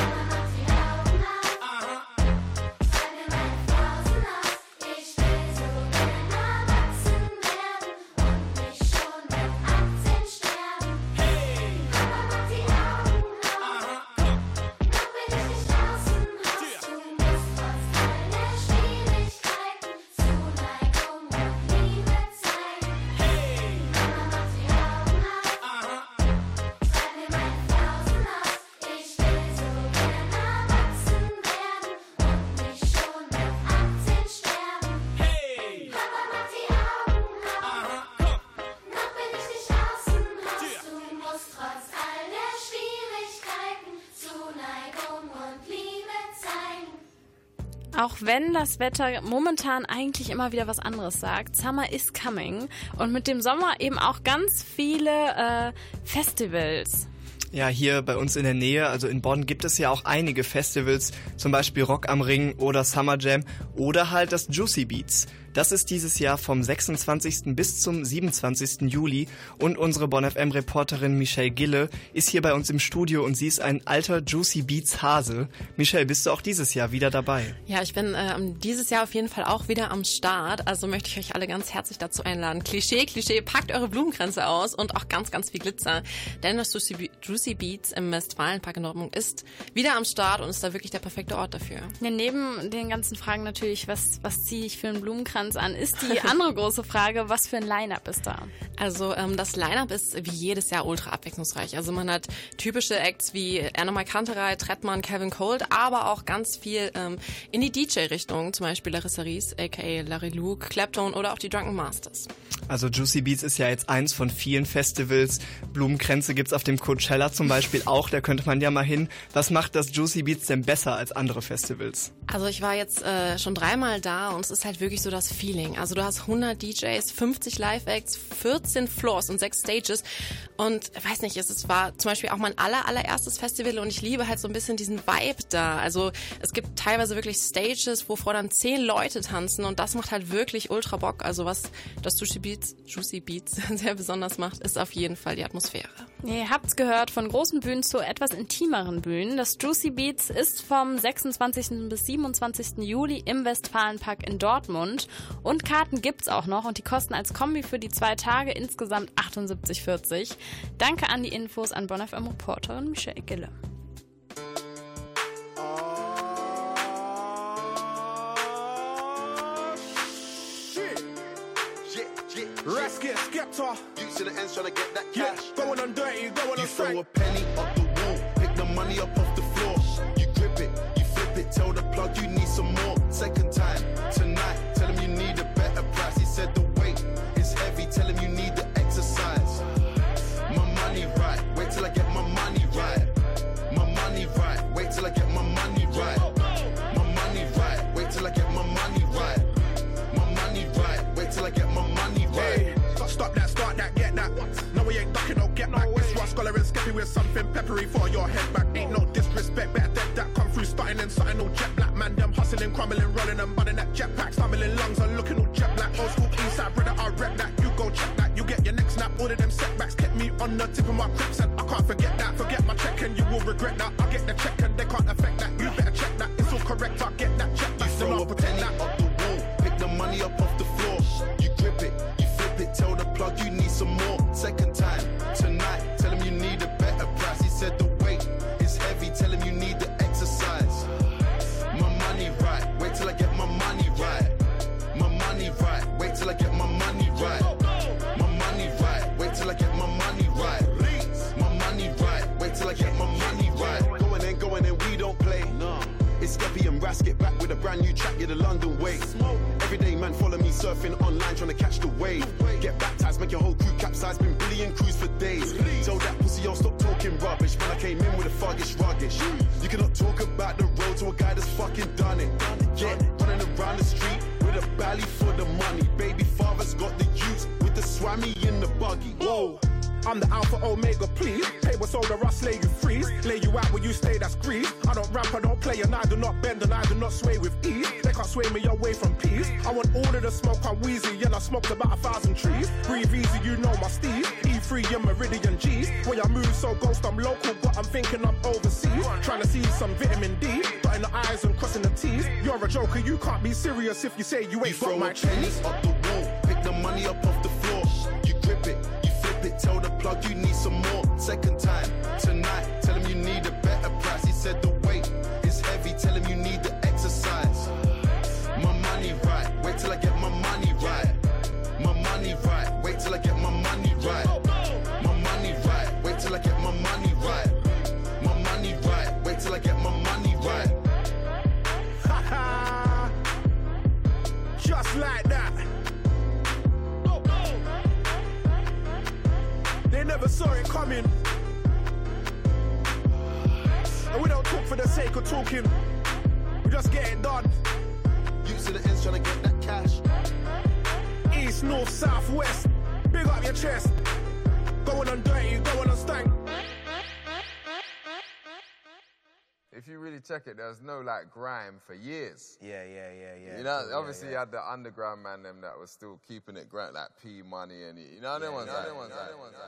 Auch wenn das Wetter momentan eigentlich immer wieder was anderes sagt, Summer is coming und mit dem Sommer eben auch ganz viele äh, Festivals.
Ja, hier bei uns in der Nähe, also in Bonn, gibt es ja auch einige Festivals, zum Beispiel Rock am Ring oder Summer Jam oder halt das Juicy Beats. Das ist dieses Jahr vom sechsundzwanzigsten bis zum siebenundzwanzigsten Juli und unsere Bonn F M-Reporterin Michelle Gille ist hier bei uns im Studio und sie ist ein alter Juicy Beats Hase. Michelle, bist du auch dieses Jahr wieder dabei?
Ja, ich bin äh, dieses Jahr auf jeden Fall auch wieder am Start, also möchte ich euch alle ganz herzlich dazu einladen. Klischee, Klischee, packt eure Blumenkränze aus und auch ganz, ganz viel Glitzer, denn das Juicy, Juicy Beats im Westfalenpark in Dortmund ist wieder am Start und ist da wirklich der perfekte Ort dafür.
Ja, neben den ganzen Fragen natürlich, was, was ziehe ich für einen Blumenkranz an, ist die andere große Frage, was für ein Line-Up ist da?
Also ähm, das Line-Up ist wie jedes Jahr ultra abwechslungsreich. Also man hat typische Acts wie Anna Kanterei, Trettmann, Kevin Colt, aber auch ganz viel ähm, in die D J-Richtung, zum Beispiel Larissa Ries, aka Larry Luke, Clapton oder auch die Drunken Masters.
Also Juicy Beats ist ja jetzt eins von vielen Festivals. Blumenkränze gibt's auf dem Coachella zum Beispiel auch, da könnte man ja mal hin. Was macht das Juicy Beats denn besser als andere Festivals?
Also ich war jetzt äh, schon dreimal da und es ist halt wirklich so das Feeling. Also du hast hundert D Js, fünfzig Live-Acts, vierzehn Floors und sechs Stages und weiß nicht, es, es war zum Beispiel auch mein aller, allererstes Festival und ich liebe halt so ein bisschen diesen Vibe da. Also es gibt teilweise wirklich Stages, wo vor dann zehn Leute tanzen und das macht halt wirklich ultra Bock. Also was das Juicy Beats, Juicy Beats sehr besonders macht, ist auf jeden Fall die Atmosphäre.
Ihr habt's gehört, von großen Bühnen zu etwas intimeren Bühnen. Das Juicy Beats ist vom sechsundzwanzigsten bis siebenundzwanzigsten Juli im Westfalenpark in Dortmund. Und Karten gibt's auch noch und die kosten als Kombi für die zwei Tage insgesamt achtundsiebzig vierzig. Danke an die Infos an Bonn F M-Reporterin Michelle Gille.
Rescue, Skepta.
You to the ends trying to get that cash.
Yeah, going on dirty, going on
You
straight.
throw a penny up the wall, pick the money up off the floor. You grip it, you flip it, tell the plug you need some more. Second time, tonight, tell him you need a better price. He said the weight is heavy, tell him you need the exercise. My money right, wait till I get my money right. My money right, wait till I get my money right. My money right, wait till I get my money right. My money right, wait till I get my money right.
Hey, stop that, start that, get
man, something all jet black, man. Them hustling, crumbling, rolling and bunning that jetpack, stumbling lungs and looking all jet black. Old school east side, brother, I rep that. You go check that, you get your next snap. All of them setbacks kept me on the tip of my crips, and I can't forget that. Forget my check and you will regret that. I get the check and they can't affect that. You better check that, it's all correct. I get that check back, so I'll pretend that.
Up the wall, pick the money up off the floor. You grip it, you flip it, tell the plug you need some more. Second time, tonight, tell him you need a better price. He said the weight is heavy, tell him you need the exercise. My money right, wait till I get my money right. My money right, wait till I get my money right. My money right, wait till I get my money right. My money right, wait till I get my money right. Going in, going in, we don't play. It's Skeppy and Rasket back with a brand new track, yeah, the London way. Everyday man follow me surfing online trying to catch the wave. Get baptized, make your whole crew capsize, been billion crews for days. Tell that pussy yo stop talking rubbish, man I came in with a fuggish ruggish. You cannot talk about the road to a guy that's fucking done it. Yeah, running around the street with a belly for the money. Baby father's got the youth with the swammy in the buggy. Whoa. I'm the Alpha Omega, please. Pay what's older, I slay you freeze. Lay you out where you stay, that's grease. I don't ramp, I don't play, and I do not bend, and I do not sway with ease. They can't sway me away from peace. I want all of the smoke, I'm wheezy, and I smoked about a thousand trees. Breathe easy, you know my steed. E three and Meridian G's. When I move so ghost, I'm local, but I'm thinking I'm overseas. Trying to see some vitamin D, dotting the I's and crossing the T's. You're a joker, you can't be serious if you say you ain't you got my cheese. Up the wall, pick the money up off the floor. You grip it, you flip it, tell the plug you need some more. Second time, tonight, tell him you need a better price. He said the weight is heavy, tell him you need the exercise. My money right, wait till I get my money right. My money right, wait till I get my money right. My money right, wait till I get my money right. My money right, wait till I get my money right.
Haha, just like that. They never saw it coming. And we don't talk for the sake of talking. We just get it done.
You to the ends trying to get that cash.
East, north, south, west. Big up your chest. Going on dirty, going on stank.
If you really check it, there was no like grime for years.
Yeah, yeah, yeah, yeah.
You know,
cool,
obviously
yeah,
you
yeah.
had the underground man them that was still keeping it grime, like P Money and you know, them ones, them ones, them ones.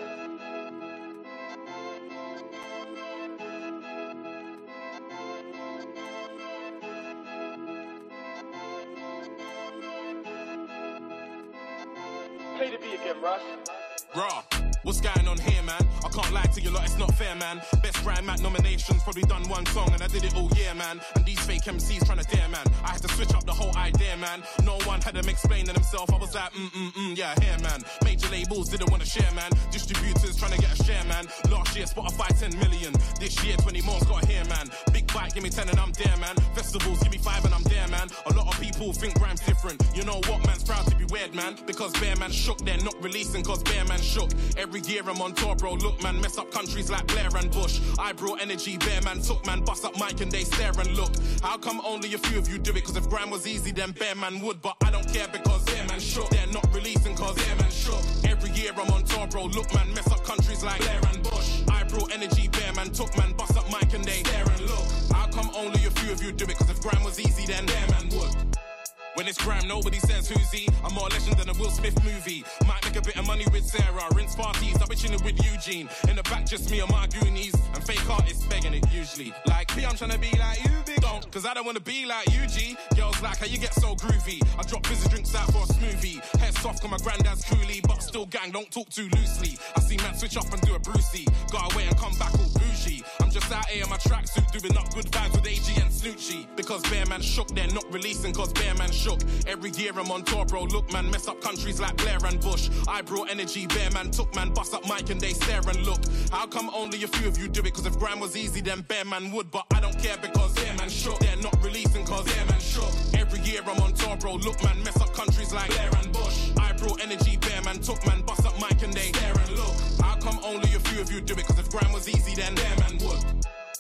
Play the beat again, Russ.
Raw. What's going on here, man? I can't lie to you lot, it's not fair, man. Best Grime Mac nominations, probably done one song, and I did it all year, man. And these fake M Cs trying to dare, man. I had to switch up the whole idea, man. No one had them explaining themselves. I was like, mm mm mm, yeah, here, man. Major labels didn't want to share, man. Distributors trying to get a share, man. Last year, Spotify ten million. This year, twenty more's got here, man. Big bike, give me ten and I'm there, man. Festivals, give me five and I'm there, man. A lot of people think Grime's different. You know what, man's proud to be weird, man. Because Bear Man shook, they're not releasing cause Bear Man shook. Every year I'm on tour, bro. Look, man, mess up countries like Blair and Bush. I brought energy, Bear Man took, man. Bust up mic and they stare and look. How come only a few of you do it? Cause if Grime was easy, then Bear Man would. But I don't care because Bear Man shook. They're not releasing cause Bear Man shook. Every year I'm on tour, bro. Look, man, mess up countries like Blair and Bush. I brought energy, Bear Man took, man. Bust up mic and they stare and look. How come only a few of you do it? Cause if Grime was easy, then Bear Man would. When it's Grime, nobody says who's he. I'm more legend than a Will Smith movie. Might make a bit of money with Sarah. Rinse parties, I'll be chilling with Eugene. In the back, just me and my goonies. And fake artists begging it usually. Like, me, I'm trying to be like you, big. Don't, cause I don't wanna be like you, G. Girls like how you get so groovy. I drop fizzy drinks out for a smoothie. Hair soft, cause my granddad's coolie. But still gang, don't talk too loosely. I see man switch up and do a Brucey. Go away and come back all bougie. I'm just out here in my tracksuit, doing up good vibes with A G and Snoochie. Because Bear Man shook, they're not releasing cause Bear Man shook. Every year I'm on tour, bro. Look, man, mess up countries like Blair and Bush. I brought energy, Bear Man took, man. Bust up mic and they stare and look. How come only a few of you do it? Cause if Grime was easy, then Bear Man would. But I don't care because Bear Man shook. They're not releasing cause Bear Man shook. Every year I'm on tour, bro. Look, man, mess up countries like Blair and Bush. I brought energy, Bear Man took, man. Bust up mic and they stare and look. How come only a few of you do it? Cause if Grime was easy, then Bear Man would.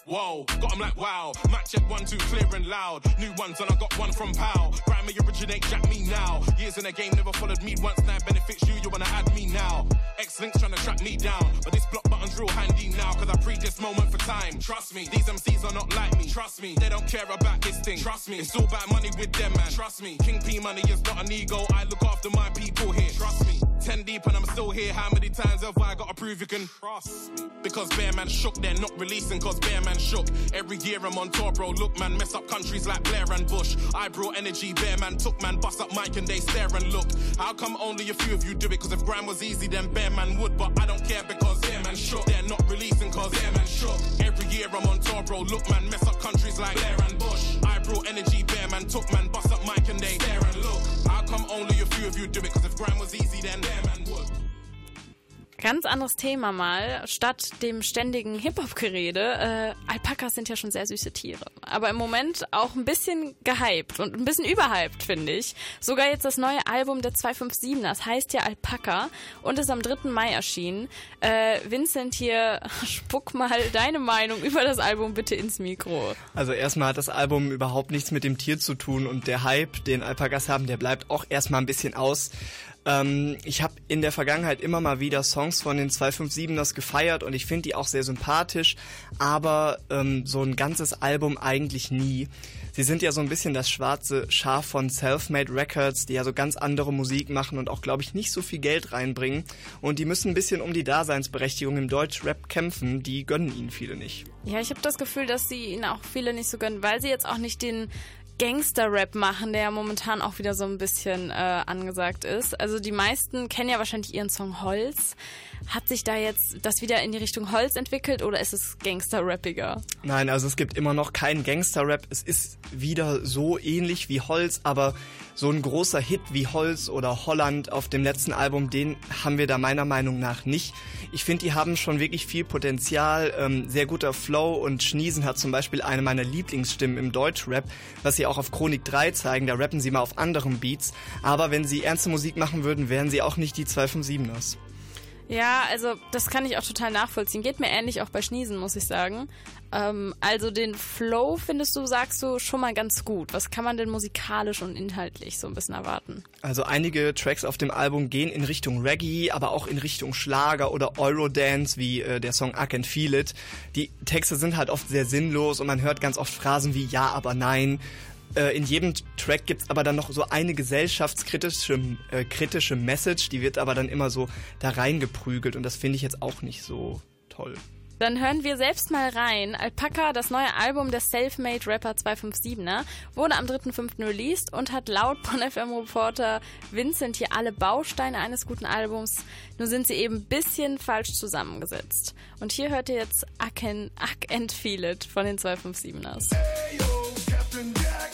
Whoa, got 'em like wow. Mic check one, two, clear and loud. New ones and I got one from Pow. Grime me originate, jack me now. Years in the game, never followed me once. Now benefits you, you wanna add me now. X-Link's trying to track me down. But this block button's real handy now. Cause I pre this moment for time. Trust me, these M Cs are not like me. Trust me, they don't care about this thing. Trust me, it's all about money with them, man. Trust me, King P money is not an ego. I look after my people here. Trust me, ten deep and I'm still here. How many times have I got to prove you can trust me? Because Bear Man shook, they're not releasing cause Bear Man shook. Every year I'm on tour, bro. Look, man, mess up countries like Blair and Bush. I brought energy, Bear Man took, man, bust up mic and they stare and look. How come only a few of you do it? Cause if grime was easy, then Bear Man would. But I don't care because Bear Man shook. They're not releasing cause Bear Man shook. Every year I'm on tour, bro. Look, man, mess up countries like Blair and Bush. I brought energy, Bear Man took, man, bust up mic and they stare and look. How come only a few of you do it? Cause if grime was easy, then Bear Man would.
Ganz anderes Thema mal, statt dem ständigen Hip-Hop-Gerede. Äh, Alpakas sind ja schon sehr süße Tiere. Aber im Moment auch ein bisschen gehypt und ein bisschen überhyped, finde ich. Sogar jetzt das neue Album der zwei fünf sieben, das heißt ja Alpaka und ist am dritten Mai erschienen. Äh, Vincent hier, spuck mal deine Meinung über das Album bitte ins Mikro.
Also erstmal hat das Album überhaupt nichts mit dem Tier zu tun und der Hype, den Alpakas haben, der bleibt auch erstmal ein bisschen aus. Ähm, ich habe in der Vergangenheit immer mal wieder Songs von den zwei fünf siebeners gefeiert und ich finde die auch sehr sympathisch, aber ähm, so ein ganzes Album eigentlich nie. Sie sind ja so ein bisschen das schwarze Schaf von Selfmade Records, die ja so ganz andere Musik machen und auch, glaube ich, nicht so viel Geld reinbringen. Und die müssen ein bisschen um die Daseinsberechtigung im Deutschrap kämpfen, die gönnen ihnen viele nicht.
Ja, ich habe das Gefühl, dass sie ihnen auch viele nicht so gönnen, weil sie jetzt auch nicht den Gangster-Rap machen, der ja momentan auch wieder so ein bisschen äh, angesagt ist. Also die meisten kennen ja wahrscheinlich ihren Song Holz. Hat sich da jetzt das wieder in die Richtung Holz entwickelt oder ist es Gangster-Rappiger?
Nein, also es gibt immer noch keinen Gangster-Rap. Es ist wieder so ähnlich wie Holz, aber so ein großer Hit wie Holz oder Holland auf dem letzten Album, den haben wir da meiner Meinung nach nicht. Ich finde, die haben schon wirklich viel Potenzial, ähm, sehr guter Flow und Schniesen hat zum Beispiel eine meiner Lieblingsstimmen im Deutschrap, was sie auch auf Chronik drei zeigen, da rappen sie mal auf anderen Beats, aber wenn sie ernste Musik machen würden, wären sie auch nicht die zwei fünf siebeners.
Ja, also das kann ich auch total nachvollziehen. Geht mir ähnlich auch bei Schniesen, muss ich sagen. Ähm, also den Flow findest du, sagst du, schon mal ganz gut. Was kann man denn musikalisch und inhaltlich so ein bisschen erwarten?
Also einige Tracks auf dem Album gehen in Richtung Reggae, aber auch in Richtung Schlager oder Eurodance, wie äh, der Song I Can Feel It. Die Texte sind halt oft sehr sinnlos und man hört ganz oft Phrasen wie Ja, aber nein. In jedem Track gibt's aber dann noch so eine gesellschaftskritische äh, kritische Message, die wird aber dann immer so da reingeprügelt und das finde ich jetzt auch nicht so toll.
Dann hören wir selbst mal rein. Alpaka, das neue Album des Selfmade Rapper zwei fünf siebener, wurde am dritten fünften released und hat laut Bonn F M-Reporter Vincent hier alle Bausteine eines guten Albums, nur sind sie eben ein bisschen falsch zusammengesetzt. Und hier hört ihr jetzt I Can, I Can Feel It von den zwei fünf siebeners.
Hey, yo, Captain Jack.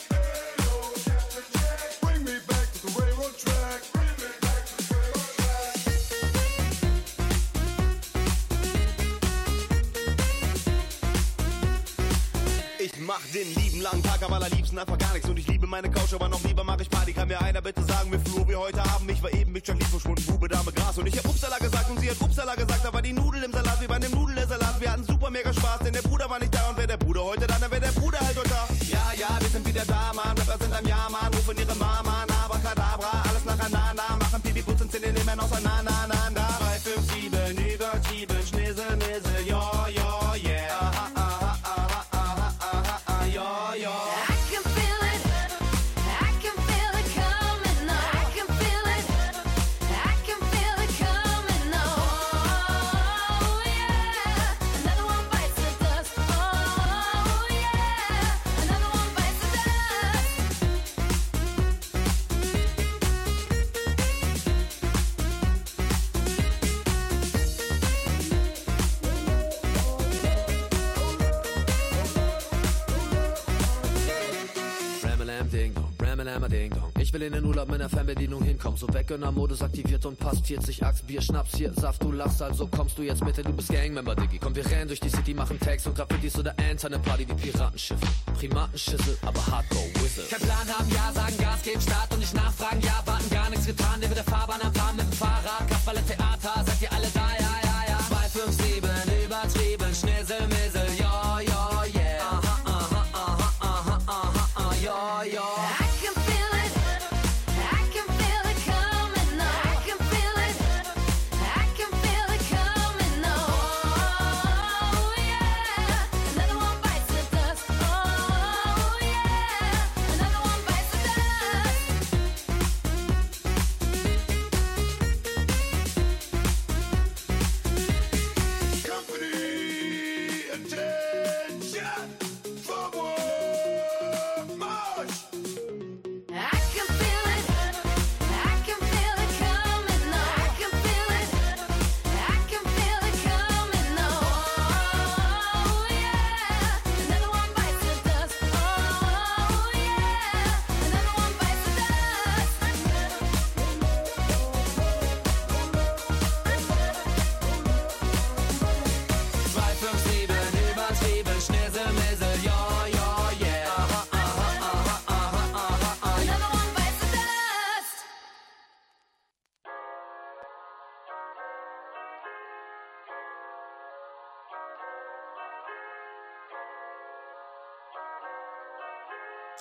Ich mach den lieben langen Tag am allerliebsten einfach gar nichts und ich liebe meine Couch, aber noch lieber mach ich Party. Kann mir einer bitte sagen, wie Flur wir heute haben? Ich war eben mit Jacqueline verschwunden, Bube, Dame, Gras und ich hab Upsala gesagt und sie hat Upsala gesagt, da war die Nudel im Salat wie bei dem Nudelsalat. Wir hatten super mega Spaß, denn der Bruder war nicht da und wer der Bruder heute da, dann wär der Bruder halt heute da. Ja, ja, wir sind wieder da, Mann, Rapper sind am Jahr, Mann, rufen ihre Mama, Abracadabra, alles nacheinander, machen Pipi, putzen, Zähne, nehmen auseinander, drei, fünf, sieben, übertrieben, Schnissel, Missel, yo, yo, yeah, aha, aha, aha, aha, aha, aha, yo, yo.
Ich will in den Urlaub mit einer Fernbedienung hinkommen. So Weggönner-Modus aktiviert und passt. vierzig Axt, Bier, Schnaps, hier, Saft, du lachst, also kommst du jetzt mit, du bist Gangmember, Diggi. Komm, wir rennen durch die City, machen Tags und Graffitis oder Ants an der Party wie Piratenschiffe. Primatenschüssel, aber Hardcore-Whistle. Kein Plan haben, ja, sagen Gas, geben Start und nicht nachfragen, ja, warten, gar nichts getan. Neben der Fahrbahn am Fahren mit dem Fahrrad, Kasperle Theater, seid ihr alle da, ja, ja, ja. zwei fünf sieben, übertrieben, Schnissel, Missel, ja, ja,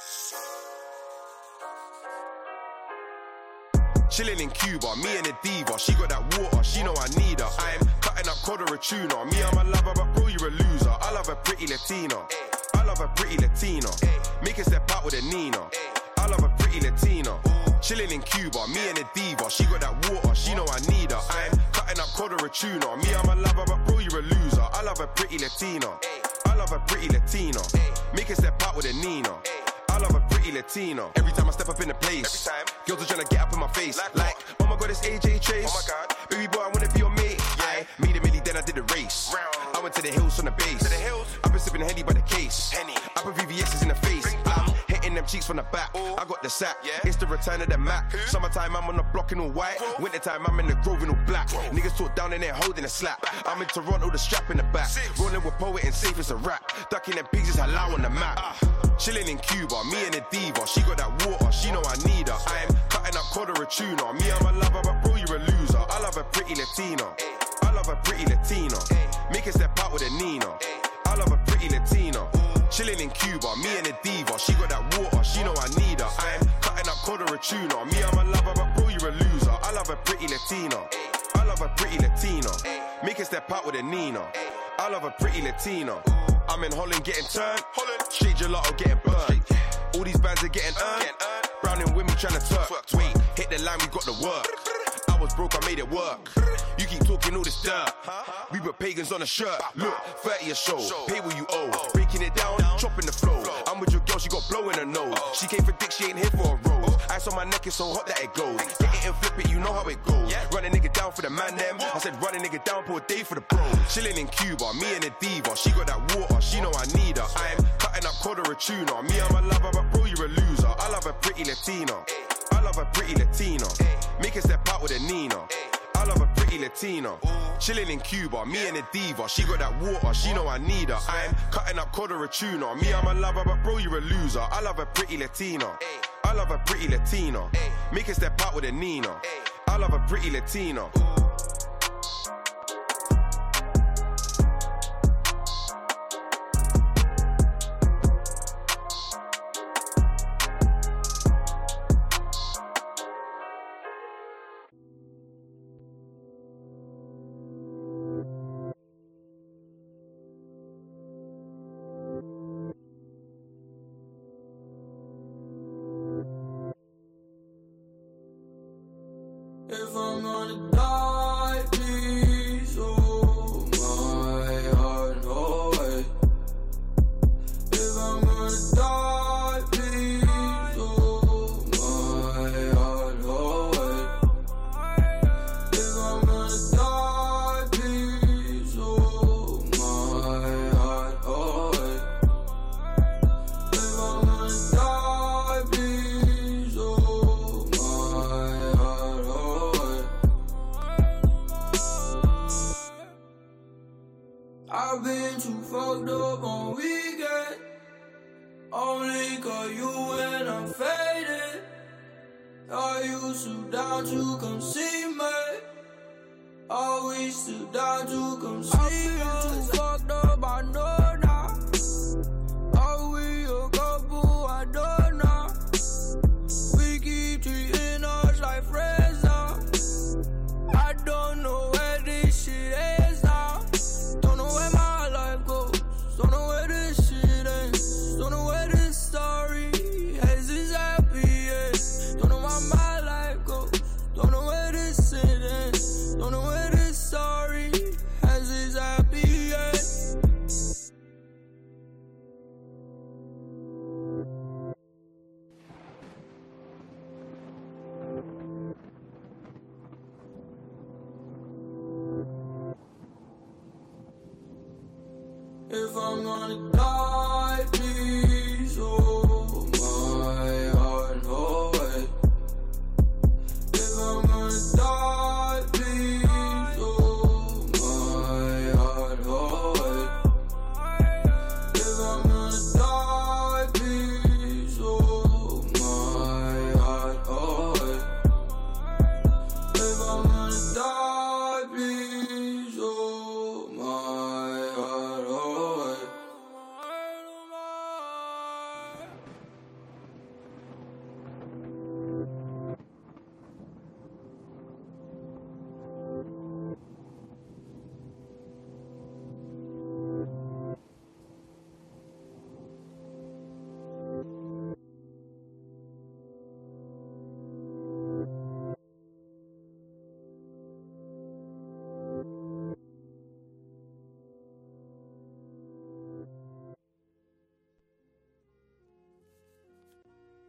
Chilling in Cuba, me and a diva. She got that water, she know I need her. I'm cutting up cod or a tuna. Me, I'm a lover, but bro, you're a loser. I love a pretty Latina. I love a pretty Latina. Make a step out with a Nina. I love a pretty Latina. Chilling in Cuba, me and a diva. She got that water, she know I need her. I'm cutting up cod or a tuna. Me, I'm a lover, but bro, you're a loser. I love a pretty Latina. I love a pretty Latina. Make a step out with a Nina. I love a pretty Latina. Every time I step up in the place, every time girls are trying to get up in my face. Like, like oh my god, it's A J Chase. Oh my god, baby boy, I wanna be your mate. Yeah, I made a milli, then I did the race. Round. I went to the hills from the base. To the hills. I've been sipping Henny by the case. Henny. I put V V X's in the face. I'm hitting them cheeks from the back. Ooh. I got the sack. Yeah. It's the return of the Mac. Ooh. Summertime, I'm on the block in all white. Ooh. Wintertime, I'm in the Grove in all black. Ooh. Niggas talk down in there holding a slap. Back. I'm in Toronto, the strap in the back. Six. Rolling with poet and safe as a rap. Ducking them pigs is halal on the map. Uh. Chilling in Cuba, me and a diva. She got that water, she know I need her. I'm cutting up cod or a tuna. Me, I'm a lover, but bro, you're a loser. I love a pretty Latina. I love a pretty Latina. Make a step out with a Nina. I love a pretty Latina. Chilling in Cuba, me and a diva. She got that water, she know I need her. I'm cutting up cod or a tuna. Me, I'm a lover, but bro, you're a loser. I love a pretty Latina. I love a pretty Latina. Make a step out with a Nina. I love a pretty Latina. I'm in Holland getting turned. Holland. Straight gelato getting burned. All these bands are getting earned. Browning with me trying to turk. Wait, hit the line, we got the work. I was broke, I made it work. You keep talking all this dirt. We put pagans on a shirt. Look, thirty a show. Pay what you owe. Breaking it down, chopping the flow. I'm with your girl, she got blow in her nose. She came for dick, she ain't here for a rose. Ice on my neck is so hot that it goes. Get it and flip it, you know how it goes. Run a nigga down for the man them. I said run a nigga down for a day for the bros. Chilling in Cuba, me and a diva. She got that water, she know I need her. I'm cutting up cod or a tuna. Me, I'm a lover, but bro, you're a loser. I love a pretty Latina. I love a pretty Latina. Make a step out with a Nina. I love a pretty Latina. Chilling in Cuba, me and a diva. She got that water, she know I need her. I'm cutting up cod or a tuna. Me, I'm a lover, but bro, you're a loser. I love a pretty Latina. I love a pretty Latina. Make a step out with a Nina. I love a pretty Latina.
If I'm gonna die, please hold my heart away. If I'm gonna die, please hold my heart away. If I'm gonna die, please hold my heart away. If I'm gonna die, please hold my heart away. I've been too fucked up on weekend. Only call you when I'm faded. I used to down to come see me. Always too down to come see me. I've been too fucked up, I know now. Are we a couple? I don't know. We keep treating us like friends now. I don't know where this shit is now. Don't know where my life goes. Don't know where this shit ends. Don't know where this story has its happy end. Don't know where my life goes. Don't know where this shit ends. Don't know where this story has its happy end. If I'm gonna die, please hold my heart away. If I'm gonna die, please hold my heart away. If I'm gonna die, please hold my heart away. If I'm gonna die, please hold my heart away.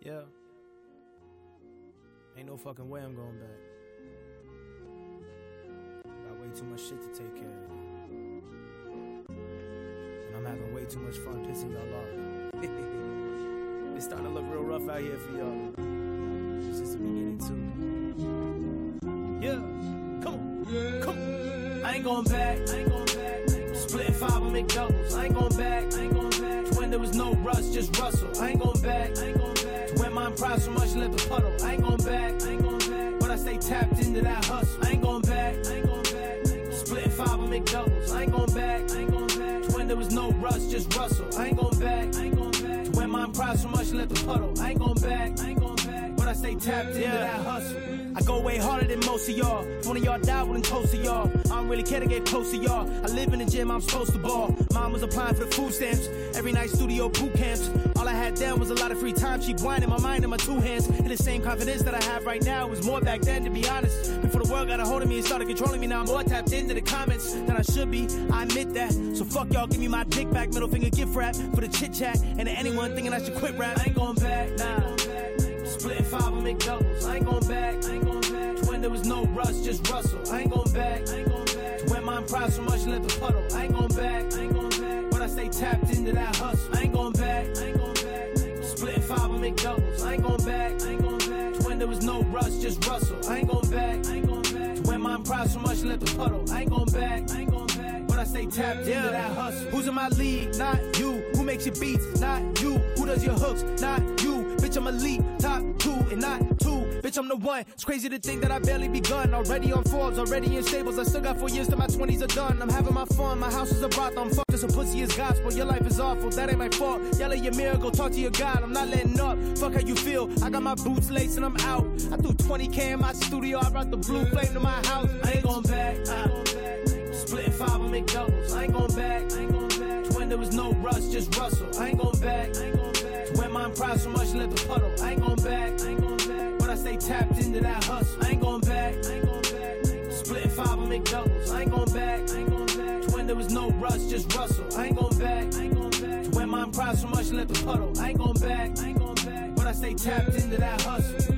Yeah. Ain't no fucking way I'm going back. Got way too much shit to take care of. And I'm having way too much fun pissing y'all off. It's starting to look real rough out here for y'all. This is the beginning too. Yeah, come on, come on. I ain't going back, I ain't going back. Split five and make doubles. I ain't going back, I ain't going back. To when there was no rush, just rustle. I ain't going back, I ain't going back. To when mine prize so much, let the puddle. I ain't going back, I ain't going back. But I stay tapped into that hustle. I ain't going back, I ain't going back. Split five and make doubles. I ain't going back, I ain't going back. To when there was no rush, just rustle. I ain't going back, I ain't going back. To when mine prize so much, let the puddle. I ain't going back, I ain't going back. But I stay tapped into yeah. that hustle. I go way harder than most of y'all. If one of y'all die, wouldn't toast to y'all. I don't really care to get close to y'all. I live in the gym, I'm supposed to ball. Mom was applying for the food stamps. Every night studio boot camps. All I had then was a lot of free time. She blind in my mind and my two hands. And the same confidence that I have right now was more back then, to be honest. Before the world got a hold of me and started controlling me, now I'm more tapped into the comments than I should be. I admit that. So fuck y'all, give me my dick back. Middle finger gift wrap for the chit chat. And to anyone thinking I should quit rap, I ain't going back, nah. Split five and make doubles. I ain't going back, I ain't going back. To when there was no rush, just rustle. I ain't going back, I ain't going back. To when mine prize so much, let the puddle. I ain't going back, I ain't going back. But I stay tapped into that hustle. I ain't going back, I ain't going back. Split five and make doubles. I ain't going back, I ain't going back. To when there was no rush, just rustle. I ain't going back, I ain't going back. To when mine prize so much, let the puddle. I ain't going back, I ain't going back. But I stay tapped yeah. into that hustle. Who's in my league? Not you. Who makes your beats? Not you. Who does your hooks? Not you. Bitch, I'm elite, top two and not two. Bitch, I'm the one. It's crazy to think that I barely begun. Already on Forbes, already in stables. I still got four years till my twenties are done. I'm having my fun. My house is a brothel. I'm fucked as a pussy is gospel. Your life is awful. That ain't my fault. Yell at your mirror, go talk to your God. I'm not letting up. Fuck how you feel. I got my boots laced and I'm out. I threw twenty K in my studio. I brought the blue flame to my house. I ain't going back. Uh, Split five and make doubles. I ain't going back. I ain't going back. To when there was no rush, just rustle. I ain't going back. I ain't going back. To when mine prize so much, let the puddle. I ain't going back. I ain't going back. But I stay tapped into that hustle. I ain't going back. I ain't going back. Split five and make doubles. I ain't going back. I ain't going back. To when there was no rush, just rustle. I ain't going back. I ain't going back. To when mine prize so much, let the puddle. I ain't going back. I ain't going back. But I stay tapped into that hustle.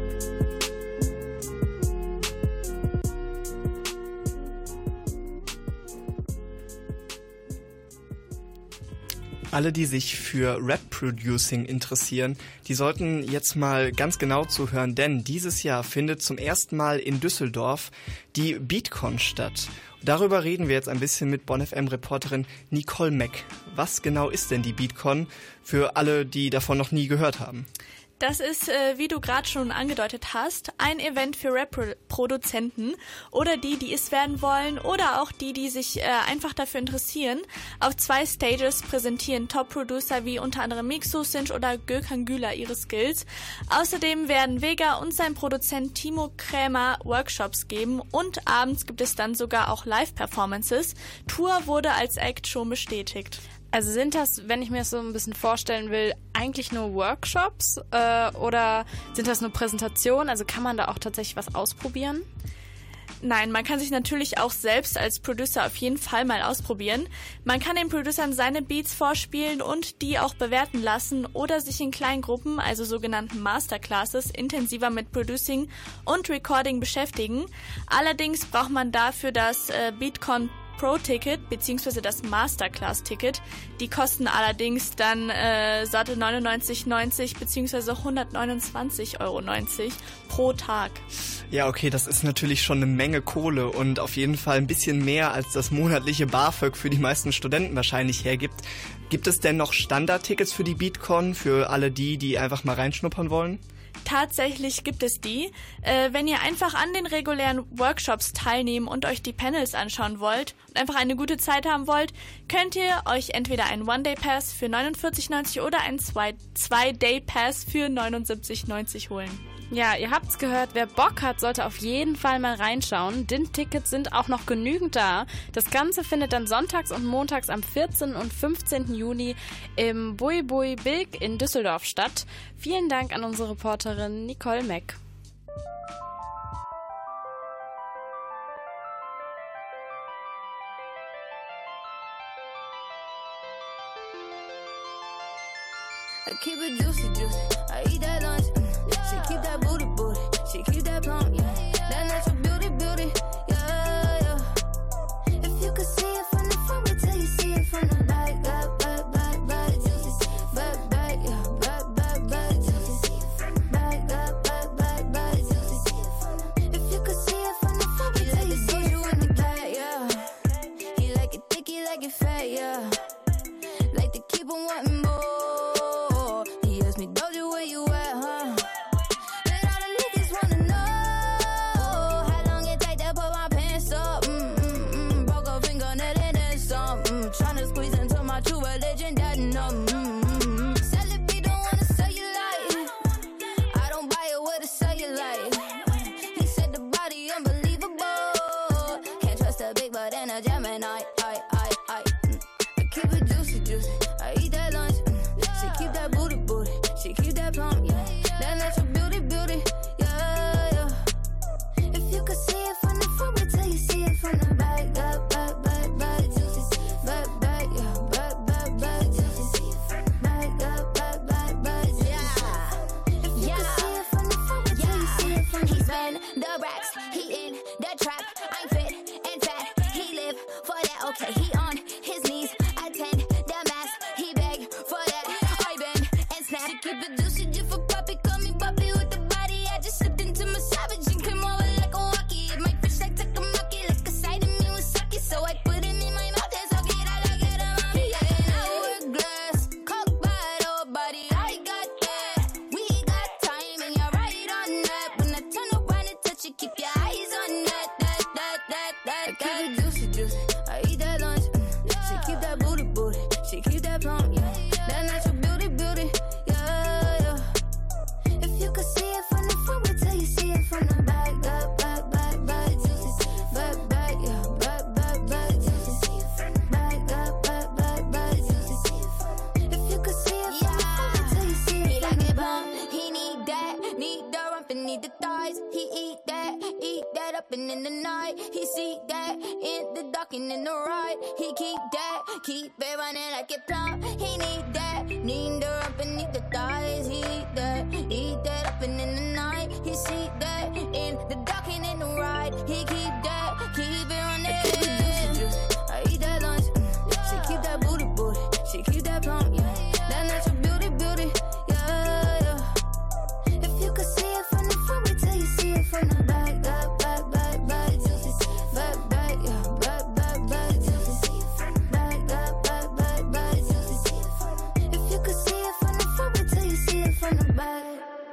Alle, die sich für Rap-Producing interessieren, die sollten jetzt mal ganz genau zuhören, denn dieses Jahr findet zum ersten Mal in Düsseldorf die Beatcon statt. Darüber reden wir jetzt ein bisschen mit Bonn F M-Reporterin Nicole Mack. Was genau ist denn die Beatcon für alle, die davon noch nie gehört haben?
Das ist, äh, wie du gerade schon angedeutet hast, ein Event für Rap-Produzenten oder die, die es werden wollen oder auch die, die sich äh, einfach dafür interessieren. Auf zwei Stages präsentieren Top-Producer wie unter anderem Mixo, Cinch oder Gökhan Güler ihre Skills. Außerdem werden Vega und sein Produzent Timo Krämer Workshops geben und abends gibt es dann sogar auch Live-Performances. Tour wurde als Act schon bestätigt. Also sind das, wenn ich mir das so ein bisschen vorstellen will, eigentlich nur Workshops äh, oder sind das nur Präsentationen? Also kann man da auch tatsächlich was ausprobieren? Nein, man kann sich natürlich auch selbst als Producer auf jeden Fall mal ausprobieren. Man kann den Producern seine Beats vorspielen und die auch bewerten lassen oder sich in kleinen Gruppen, also sogenannten Masterclasses, intensiver mit Producing und Recording beschäftigen. Allerdings braucht man dafür das äh, Beatcon Pro-Ticket bzw. das Masterclass-Ticket. Die kosten allerdings dann äh, satte neunundneunzig neunzig bzw. hundertneunundzwanzig Euro neunzig pro Tag.
Ja, okay, das ist natürlich schon eine Menge Kohle und auf jeden Fall ein bisschen mehr, als das monatliche BAföG für die meisten Studenten wahrscheinlich hergibt. Gibt es denn noch Standardtickets für die Beatcon, für alle die, die einfach mal reinschnuppern wollen?
Tatsächlich gibt es die. Äh, wenn ihr einfach an den regulären Workshops teilnehmen und euch die Panels anschauen wollt und einfach eine gute Zeit haben wollt, könnt ihr euch entweder einen One-Day-Pass für neunundvierzig neunzig oder einen Zwei-Day-Pass für neunundsiebzig neunzig holen. Ja, ihr habt's gehört, wer Bock hat, sollte auf jeden Fall mal reinschauen, denn Tickets sind auch noch genügend da. Das Ganze findet dann sonntags und montags am vierzehnten und fünfzehnten Juni im Bui Bui Bilk in Düsseldorf statt. Vielen Dank an unsere Reporterin Nicole Mack.
I keep it juicy, juicy. I eat that lunch. Mm. She keep that booty, booty. She keep that plump, yeah. That natural beauty, beauty, yeah, yeah. If you could see it from the front, wait till you see it from the back, back, back, back, back, back, back, yeah, back, back, back, back, back, back, back, back. If you could see it from the front, wait till you see it from the back, yeah. He like it thick, he like it fat, yeah. Like to keep on wanting more. He asked me, Doja, where you at, huh? And all the niggas wanna know how long it take to put my pants up. Mm, mm, mm. Broke a fingernail and then some. Mm. Tryna squeeze into my true religion, that no. Mm, mm, mm. Sell it, we don't wanna sell you like. I don't buy it with a cellulite. He said the body unbelievable. Can't trust a big butt and a Gemini. I, I, I. Mm. I keep it juicy, juicy. I eat that lunch. Mm. She keep that booty, booty. She keep that plump, yeah. That natural beauty, beauty, yeah, yeah. If you could see it from the front, wait till you see it from the back, back, back, back, back, back, back, yeah, back, back, back, back, back, back, back, back, yeah. If you could see it from the front, wait till you see it from the back. He spend the racks, he in the trap. I'm fit and fat, he live for that. Okay, he on his knees, attend the mass. He beg for that. I bend and snap. She keep it juicy, just for puppy. Call me puppy with the body. I just slipped into my savage and came over like a walkie. It might fish like takamaki, like a side of me with sake. So I put him in my mouth and suck it. I like it around me. Yeah, hourglass, cock bottle body. I got that. We got time and you're right on that. When I turn around and touch you, keep your eyes on that, that, that, that, that. I keep it juicy, juicy. I eat that lunch. Mm. She keep that booty, booty. She keep that plump, yeah. That natural beauty, beauty, yeah, yeah. If you could see it from the front, wait till you see it from the back, back, back, back, back, back, back, yeah, back, back, back, back, back, back, back, back. If you could see it from the front, wait till you see it. He like it plump, he need that, need the rump and need the thighs. He eat that, eat that up and in the night. He see that in the dark and in the ride. He keep that, keep it running like it plump. He need that, need the rump and need the thighs. He eat that, eat that up and in the night. He see that in the dark and in the ride. He keep that, keep it running. I eat that lunch. Mm. She keep that booty, booty. She keep that plump, yeah. That natural beauty, beauty, yeah, yeah. If you could see it from the front, wait till you see it from the back, back, back, back, back, back, back, yeah, back, back, back, back, back, back, back, back. If you could see it from the front, wait till you see it from the back.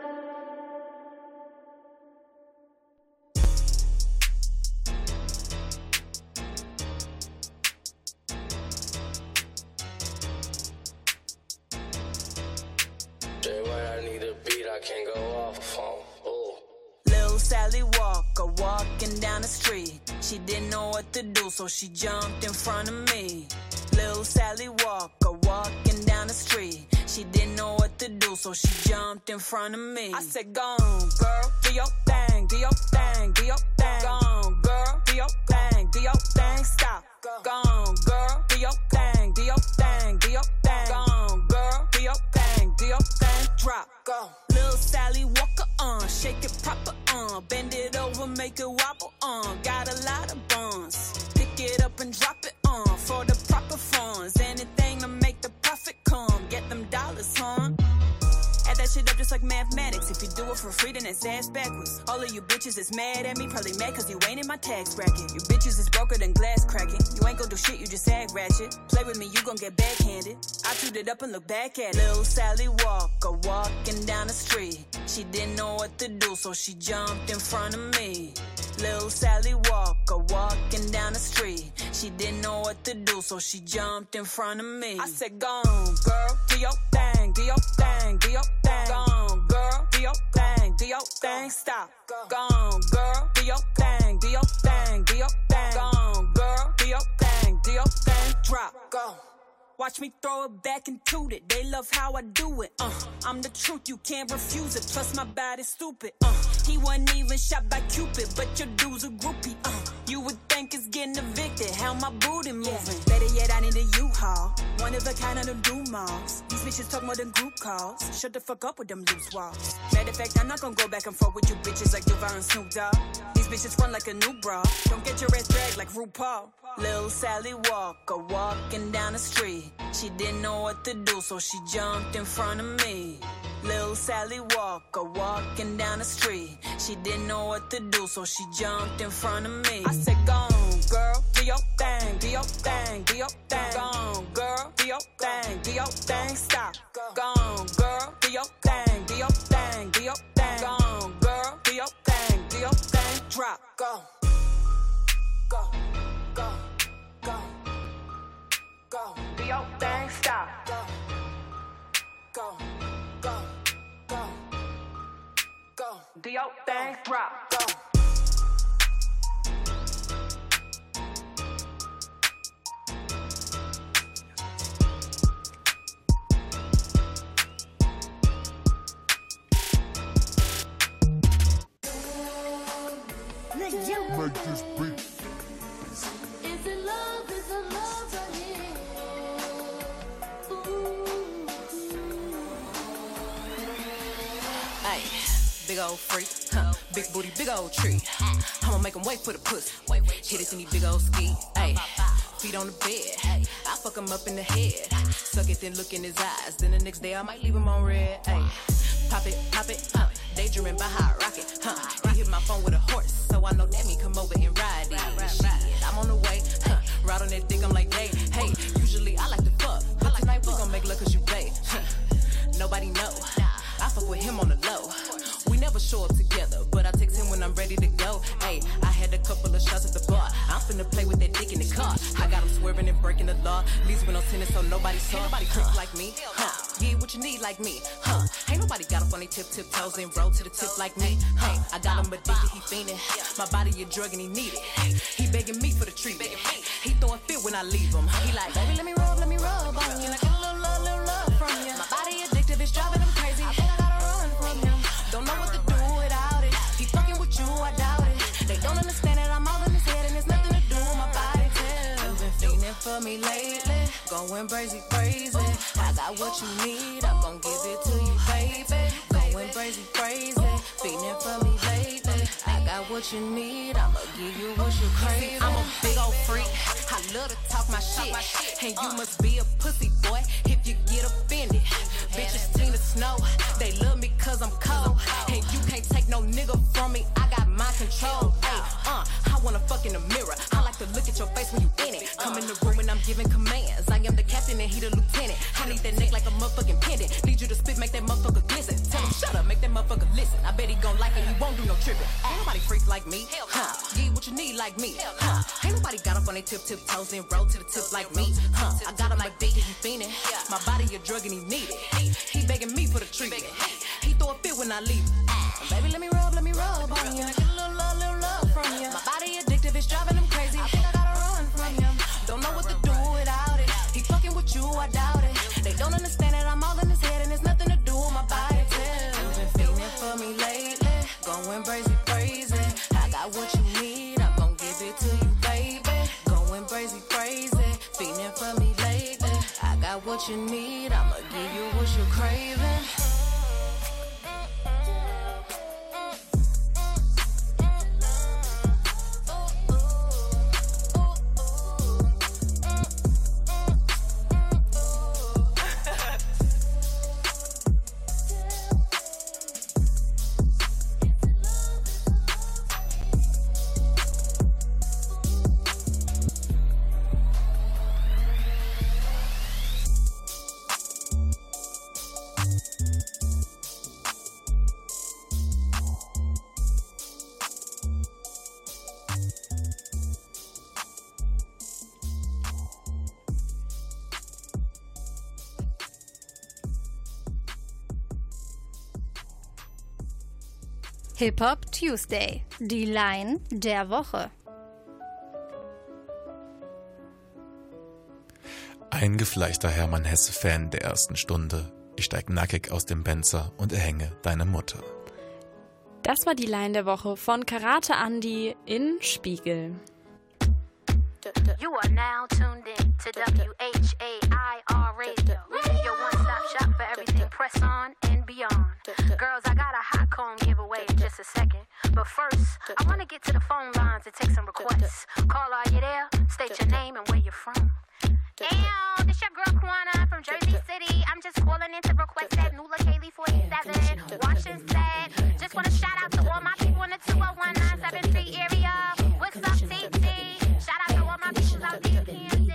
Jay, when I need a beat, I can't go off on. Ooh.
Lil Sally Walker walking down the street. She didn't know what to do, so she jumped in front of me. Lil Sally Walker walking down the street. She didn't know what to do, so she jumped in front of me. I said, go on, girl, do your thing, do your thing, do your thing. Go on, girl, do your thing, do your thing. Stop. Go on, girl, do your thing, do your thing, do your thing. Go on, girl, do your thing, do your thing. Drop. Go. Lil Sally Walker on, uh, shake it proper on, uh, bend it over, make it wobble on. Uh, got a lot of buns, pick it up and drop it on uh, for the proper funds. Anything to make the profit come, get them dollars, huh? Add that shit up just like mathematics. If you do it for free, then it's ass backwards. All of you bitches is mad at me, probably mad cause you ain't in my tax bracket. You bitches is broker than glass cracking. You ain't gon' do shit, you just act ratchet. Play with me, you gon' get backhanded. I chewed it up and look back at it. Lil Sally Walker walking down the street. She didn't know what to do, so she jumped in front of me. Lil Sally Walker walking down the street. She didn't know what to do, so she jumped in front of me. I said, go on, girl, do your thing, do your thing, do your thing. Go on, girl, do your thing, do your thing. Stop. Go on, girl, do your thing, do your thing, do your thing. Go on, girl, do your thing, do your thing. Drop. Go. Watch me throw it back and toot it. They love how I do it. Uh, I'm the truth, you can't refuse it. Plus my body's stupid. Uh, he wasn't even shot by Cupid, but your dude's a groupie. Uh, you would think bank is getting evicted. How my booty moving? Better yet, I need a U-Haul. One of a kind of them do malls. These bitches talk more than group calls. Shut the fuck up with them loose walls. Matter of fact, I'm not gonna go back and forth with you bitches like Duval and Snoop Dogg. These bitches run like a new bra. Don't get your ass dragged like RuPaul. Lil' Sally Walker walking down the street. She didn't know what to do, so she jumped in front of me. Lil' Sally Walker walking down the street. She didn't know what to do, so she jumped in front of me. I said, go on, girl, do your thing, do your thing, do your thing. Go on, girl, do your thing, do your thing. Stop. Go on, girl, do your thing, do your thing, do your thing. Go on, girl, do your thing, do your thing. Drop. Go. Go. Go. Go. Go. Do your thing. Stop. Go. Go. Go, go, go. Do your thing, drop, go.
Make this beat.
Is it love? Is it love right here?
Ay, big old freak, huh? Big booty, big old tree. I'ma make him wait for the pussy. Hit it in these big old ski. Ay, feet on the bed. I fuck him up in the head. Suck it, then look in his eyes. Then the next day I might leave him on red. Ay, pop it, pop it, huh? Daydreaming by how I rock it, huh? He hit my phone with a horse, so I know that me come over and ride it. Shit, I'm on the way, huh? Ride on that dick, I'm like, hey, hey. Usually I like to fuck, but tonight we gon' make love cause you babe. Huh? Nobody know. I fuck with him on the low. We never show up together, but I text him when I'm ready to go. Hey, I had a couple of shots at the bar. I'm finna play with that dick in the car. I got him swerving and breaking the law. Leaves with no tennis, so nobody saw. Ain't nobody trick like me, huh? Yeah, what you need like me, huh? Ain't nobody got up on their tip, tip toes and roll to the tip like me, huh? I got him addicted, he fiending. My body a drug and he need it. He begging me for the treatment. He throwing fit when I leave him. He like, baby, let me rub, let me rub on you. Like a little love, little love from you. My body addictive, it's driving him crazy. I think I gotta run from him. Don't know what to do without it. He fucking with you, I doubt it. They don't understand that I'm all in his head and there's nothing to do with my body. You've been feeling for me lately, going crazy, crazy. I got what you need, I'm gon' give it to you, baby. Going crazy, crazy, feeling for me lately. I got what you need, I'ma give you what you crave. I'm a big old freak, I love to talk my shit, and you must be a pussy boy if you get offended. Bitches Tina Snow, they love me cause I'm cold, and you can't take no nigga from me, I got my control. Ay, uh, I wanna fuck in the mirror, I like to look at your face when you in it. Come in the room and I'm giving commands, I am the captain and he the lieutenant. I need that neck like a motherfucking pendant, need you to spit, make that motherfucker glisten. Tell him shut up, make that motherfucker listen. I bet he gon' like it, he won't do no tripping. Ain't nobody freak like me, huh? Yeah, what you need like me, huh? Ain't nobody got up on their tip, tip toes and roll to the tip like me, huh? I got him like big and he fiending, my body a drug and he need it. He begging me for the treatment, he throw a fit when I leave. Baby, let me rub, let me rub on you. Get a little love, little love from you. My body addictive, it's driving him crazy. I think I gotta run from him. Don't know what to do without it. He fucking with you, I doubt it. They don't understand that I'm all in his head and there's nothing to do with my body. You've been feeling for me lately, going crazy, crazy. I got what you need, I'm gon' give it to you, baby. Going crazy, crazy, feeling for me lately. I got what you need, I'ma give you what you're craving.
Hip-Hop Tuesday, die Line der Woche.
Eingefleischter Hermann Hesse-Fan der ersten Stunde. Ich steig nackig aus dem Benzer und erhänge deine Mutter.
Das war die Line der Woche von Karate Andi in Spiegel.
You are now tuned in to W H A I R Radio. Your one-stop shop for everything press on and beyond. Girls, I got a hot comb giveaway in just a second. But first, I want to get to the phone lines and take some requests. Call, are you there? State your name and where you're from. Damn, this your girl Kwana from Jersey City. I'm just calling in to request that Nula Kaylee forty-seven. Washington said, just want to shout out to all my people in the two oh one nine seven three area. What's up, T T? Shout out to all my people out there in Kansas.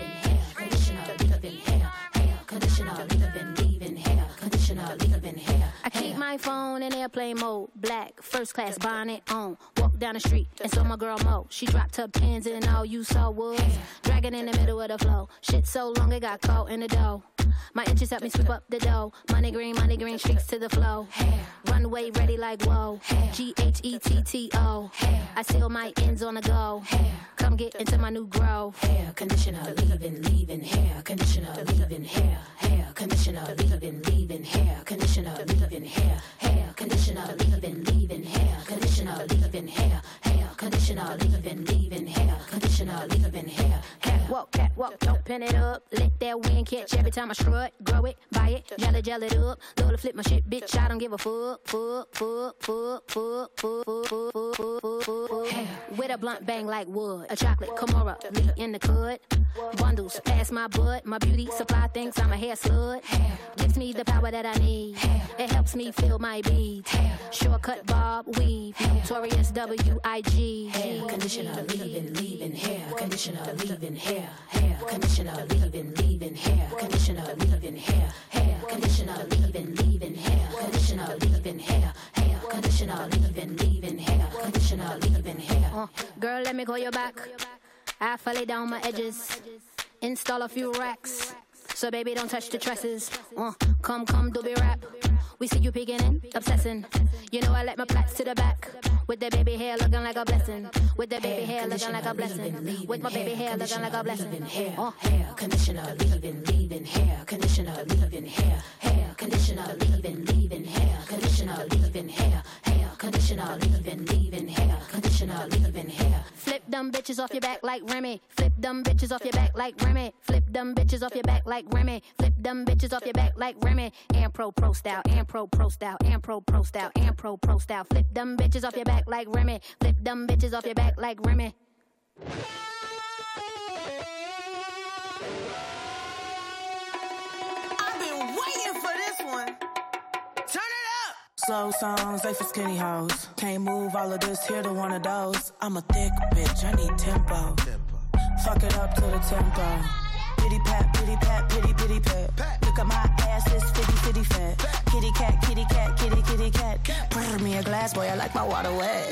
Conditioner, leave-in, leave-in hair. Conditioner, leave-in hair. I keep my phone in airplane mode. Black, first class bonnet on. Walk down the street and saw my girl Mo. She dropped her pins and all you saw was dragging in the middle of the flow. Shit so long it got caught in the dough. My inches help me sweep up the dough. Money green, money green, streaks to the flow. Runway ready like whoa. G H E T T O. I seal my ends on the go. Come get into my new grow. Hair conditioner, leave-in, leave-in hair. Conditioner, leave-in hair. Hair conditioner, leave-in, leave-in hair. Conditioner, leave-in hair. Hair conditioner, leave-in, leave-in hair. Conditioner, leave-in hair. Hair conditioner, leave-in, leave-in hair. Conditioner, leave-in hair. Catwalk, catwalk, don't pin it up. Let that wind catch every time I strut. Grow it, buy it, gel it, gel it up. Love to flip my shit, bitch. I don't give a fuck, fuck, fuck, fuck, fuck, fuck, fuck, fuck, fuck, fuck, fuck. With a blunt bang like wood. A chocolate Kimura, me in the cud. Bundles past my butt. My beauty supply thinks I'm a hair slut. Gives me the power that I need. It helps me feel my beats. Shortcut bob weave. Notorious W I G. Hair conditioner, leave-in, leave-in hair. Conditioner, leave-in hair. Hair conditioner, leave-in, leave-in hair. Conditioner, leave-in hair. Hair conditioner, leave-in, leave-in hair. Conditioner, leave-in hair. Hair conditioner, leave-in, leave-in hair. Conditioner, leave-in hair. Uh, girl, let me call you back. I lay down my edges. Install a few racks. So baby, don't touch the tresses. Uh, come, come, do be rap. We see you peeking in, obsessing. You know I let my plaits to the back. With the baby hair looking like a blessing. With the baby hair looking like a blessing. With my baby hair looking like a blessing. Hair, uh. hair conditioner, leave-in, leave-in hair. Conditioner, leave-in hair. Hair conditioner, leave-in, leave-in hair. Conditioner, leave-in hair. Hair conditioner, leave-in, leave-in hair. Conditioner, leave-in hair. Flip them bitches off your back like Remy. Flip them bitches off your back like Remy. Flip them bitches off your back like Remy. Flip them bitches off your back like Remy. And pro pro style, and pro pro style, and pro pro style, and pro pro style. Flip them bitches off your back like Remy. Flip them bitches off your back like Remy.
I've been waiting for this one. Turn it up.
Slow songs, they for skinny hoes. Can't move all of this, here to one of those. I'm a thick bitch, I need tempo. Fuck it up to the tempo. Pity pat, pity pat, pity pity pat. Look at my ass, it's fitty fitty fat. Kitty cat, kitty cat, kitty kitty cat. Pour me a glass, boy, I like my water wet.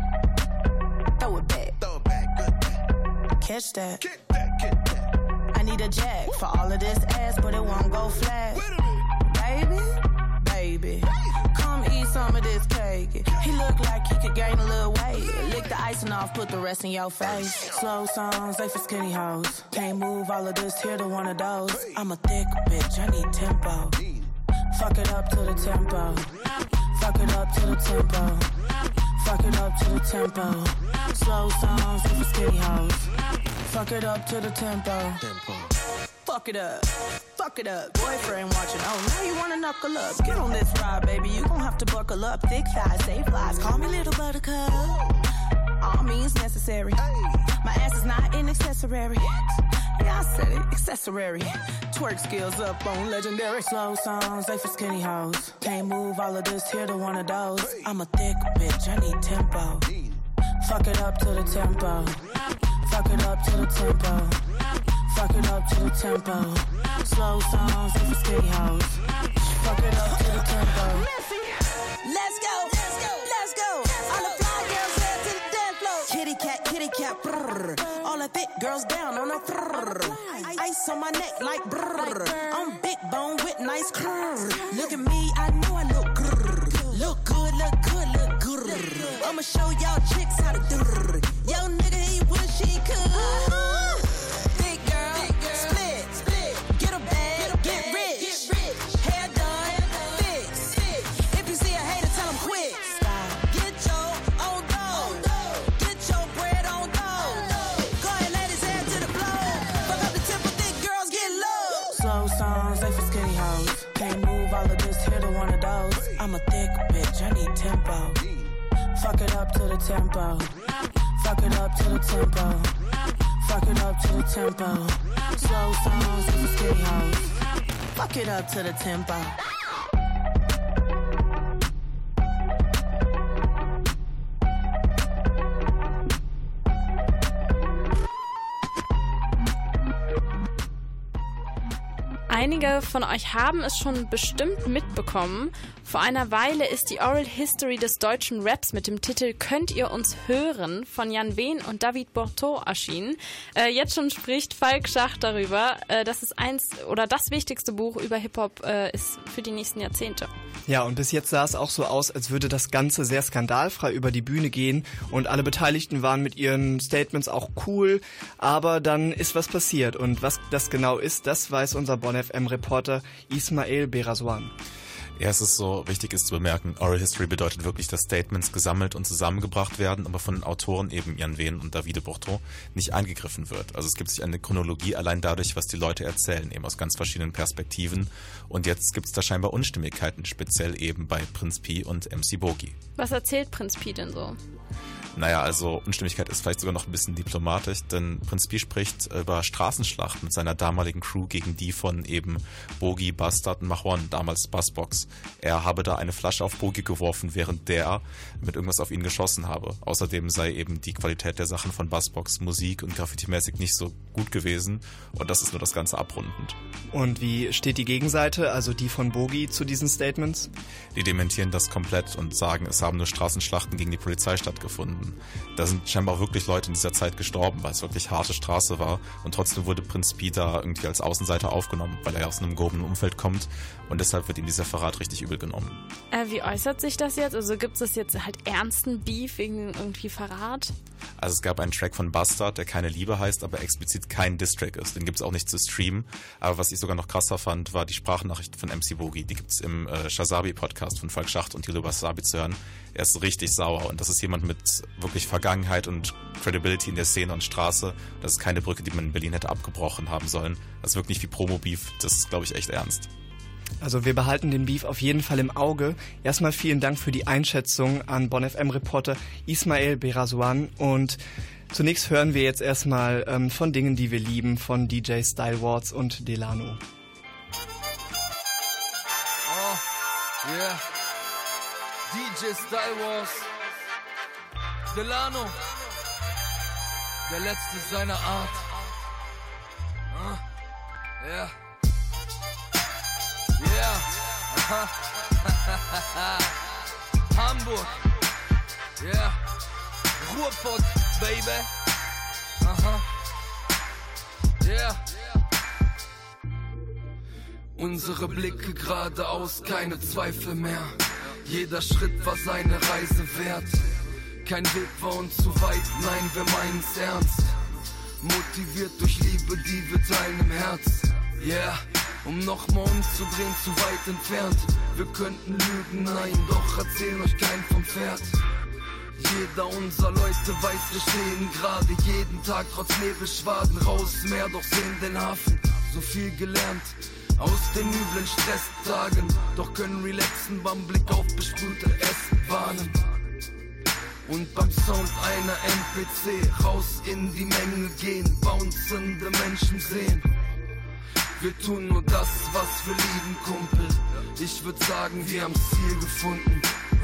Throw it back, throw it back, good back. Catch that. Get that, get that. I need a jack for all of this ass, but it won't go flat. Baby, baby, come eat some of this cake. He look like he could gain a little weight. Lick the icing off, put the rest in your face. Slow songs, they for skinny hoes. Can't move all of this, here to one of those. I'm a thick bitch, I need tempo. Fuck it up to the tempo. Fuck it up to the tempo. Fuck it up to the tempo. Slow songs, they for skinny hoes. Fuck it up to the tempo. Fuck it up. Fuck it up. Boyfriend watching. Oh, now you wanna knuckle up. Get on this ride, baby. You gon' have to buckle up. Thick thighs, save lives. Call me little buttercup. All means necessary. My ass is not an accessory. Yeah, I said it. Accessory. Twerk skills up on legendary. Slow songs, they for skinny hoes. Can't move all of this, here to one of those. I'm a thick bitch, I need tempo. Fuck it up to the tempo. Fuck it up to the tempo. Fuck it up to the tempo. Slow songs, they for skinny hoes. Fuck it up to the tempo.
Let's go, let's go, let's go. All the fly girls head to the dance floor. Kitty cat, kitty cat, brrr. All the thick girls down on the brrr. Ice on my neck like brrr. I'm big bone with nice curves. Look at me, I know I look grrr. Look good, look good, look good. I'ma show y'all chicks how to do. Yo nigga, he wish he could. Big girl, big girl. Split, split. Get a bag, get rich. Hair done, fix. If you see a hater, tell him quit. Get your own dough. Get your bread on dough. Go ahead, ladies, head to the
I'm a thick bitch, I need tempo. Fuck it up to the tempo. Fuck it up to the tempo. Fuck it up to the tempo. Slow songs with the skinny hoes. Fuck it up to the tempo.
Einige von euch haben es schon bestimmt mitbekommen. Vor einer Weile ist die Oral History des deutschen Raps mit dem Titel Könnt ihr uns hören von Jan Wehn und David Borteau erschienen. Äh, jetzt schon spricht Falk Schacht darüber, äh, dass es eins oder das wichtigste Buch über Hip-Hop äh, ist für die nächsten Jahrzehnte.
Ja, und bis jetzt sah es auch so aus, als würde das Ganze sehr skandalfrei über die Bühne gehen und alle Beteiligten waren mit ihren Statements auch cool, aber dann ist was passiert und was das genau ist, das weiß unser Bonn F M-Reporter Ismael Beraswan.
Ja, es ist so, wichtig ist zu bemerken, Oral History bedeutet wirklich, dass Statements gesammelt und zusammengebracht werden, aber von den Autoren eben Jan Wehn und David Borteau nicht eingegriffen wird. Also es gibt sich eine Chronologie allein dadurch, was die Leute erzählen, eben aus ganz verschiedenen Perspektiven. Und jetzt gibt es da scheinbar Unstimmigkeiten, speziell eben bei Prinz Pi und M C Boogie.
Was erzählt Prinz Pi denn so?
Naja, also Unstimmigkeit ist vielleicht sogar noch ein bisschen diplomatisch, denn Prinz Pi spricht über Straßenschlacht mit seiner damaligen Crew gegen die von eben Boogie, Bastard und Mahon, damals Buzzbox. Er habe da eine Flasche auf Boogie geworfen, während der mit irgendwas auf ihn geschossen habe. Außerdem sei eben die Qualität der Sachen von Buzzbox, Musik und Graffiti-mäßig nicht so gut gewesen und das ist nur das Ganze abrundend.
Und wie steht die Gegenseite, also die von Boogie, zu diesen Statements?
Die dementieren das komplett und sagen, es haben nur Straßenschlachten gegen die Polizei stattgefunden. Da sind scheinbar wirklich Leute in dieser Zeit gestorben, weil es wirklich harte Straße war und trotzdem wurde Prinz Pi da irgendwie als Außenseiter aufgenommen, weil er aus einem gehobenen Umfeld kommt und deshalb wird ihm dieser Verrat richtig übel genommen.
Äh, wie äußert sich das jetzt? Also gibt es jetzt halt ernsten Beef wegen irgendwie Verrat?
Also es gab einen Track von Bastard, der Keine Liebe heißt, aber explizit kein Diss-Track ist. Den gibt's auch nicht zu streamen. Aber was ich sogar noch krasser fand, war die Sprachnachricht von M C Boogie. Die gibt's im äh, Shazabi-Podcast von Falk Schacht und Thilo Wasabi zu hören. Er ist richtig sauer und das ist jemand mit wirklich Vergangenheit und Credibility in der Szene und Straße. Das ist keine Brücke, die man in Berlin hätte abgebrochen haben sollen. Das wirkt nicht wie Promo-Beef. Das ist, glaube ich, echt ernst.
Also wir behalten den Beef auf jeden Fall im Auge. Erstmal vielen Dank für die Einschätzung an Bonn F M-Reporter Ismael Beraswan. Und zunächst hören wir jetzt erstmal ähm, von Dingen, die wir lieben, von D J Style Wars und Delano.
Oh, yeah. D J Style Wars. Delano. Der letzte seiner Art. Ja. Uh, yeah. Yeah, aha. Hamburg, yeah, Ruhrpott, baby, aha, yeah. Unsere Blicke geradeaus, keine Zweifel mehr. Jeder Schritt war seine Reise wert. Kein Weg war uns zu weit, nein, wir meinen's ernst. Motiviert durch Liebe, die wir teilen im Herz, yeah. Um nochmal umzudrehen, zu weit entfernt. Wir könnten lügen, nein, doch erzählen euch kein vom Pferd. Jeder unserer Leute weiß, wir stehen gerade jeden Tag trotz Nebelschwaden raus, Meer, doch sehen den Hafen. So viel gelernt aus den üblen Stresstagen, doch können relaxen beim Blick auf besprühte S-Bahnen. Und beim Sound einer M P C raus in die Menge gehen, bouncende Menschen sehen. Wir tun nur das, was wir lieben, Kumpel. Ich würd sagen, wir haben's Ziel gefunden.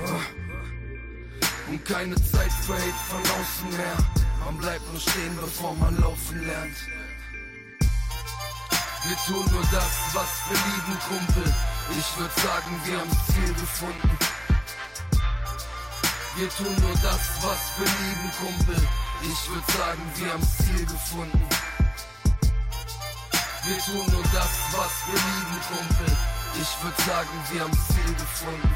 Und keine Zeit für Hate von außen mehr. Man bleibt nur stehen, bevor man laufen lernt. Wir tun nur das, was wir lieben, Kumpel. Ich würd sagen, wir haben's Ziel gefunden. Wir tun nur das, was wir lieben, Kumpel. Ich würd sagen, wir haben's Ziel gefunden. Wir tun nur das, was wir lieben, Kumpel. Ich würd sagen, wir haben's Ziel gefunden.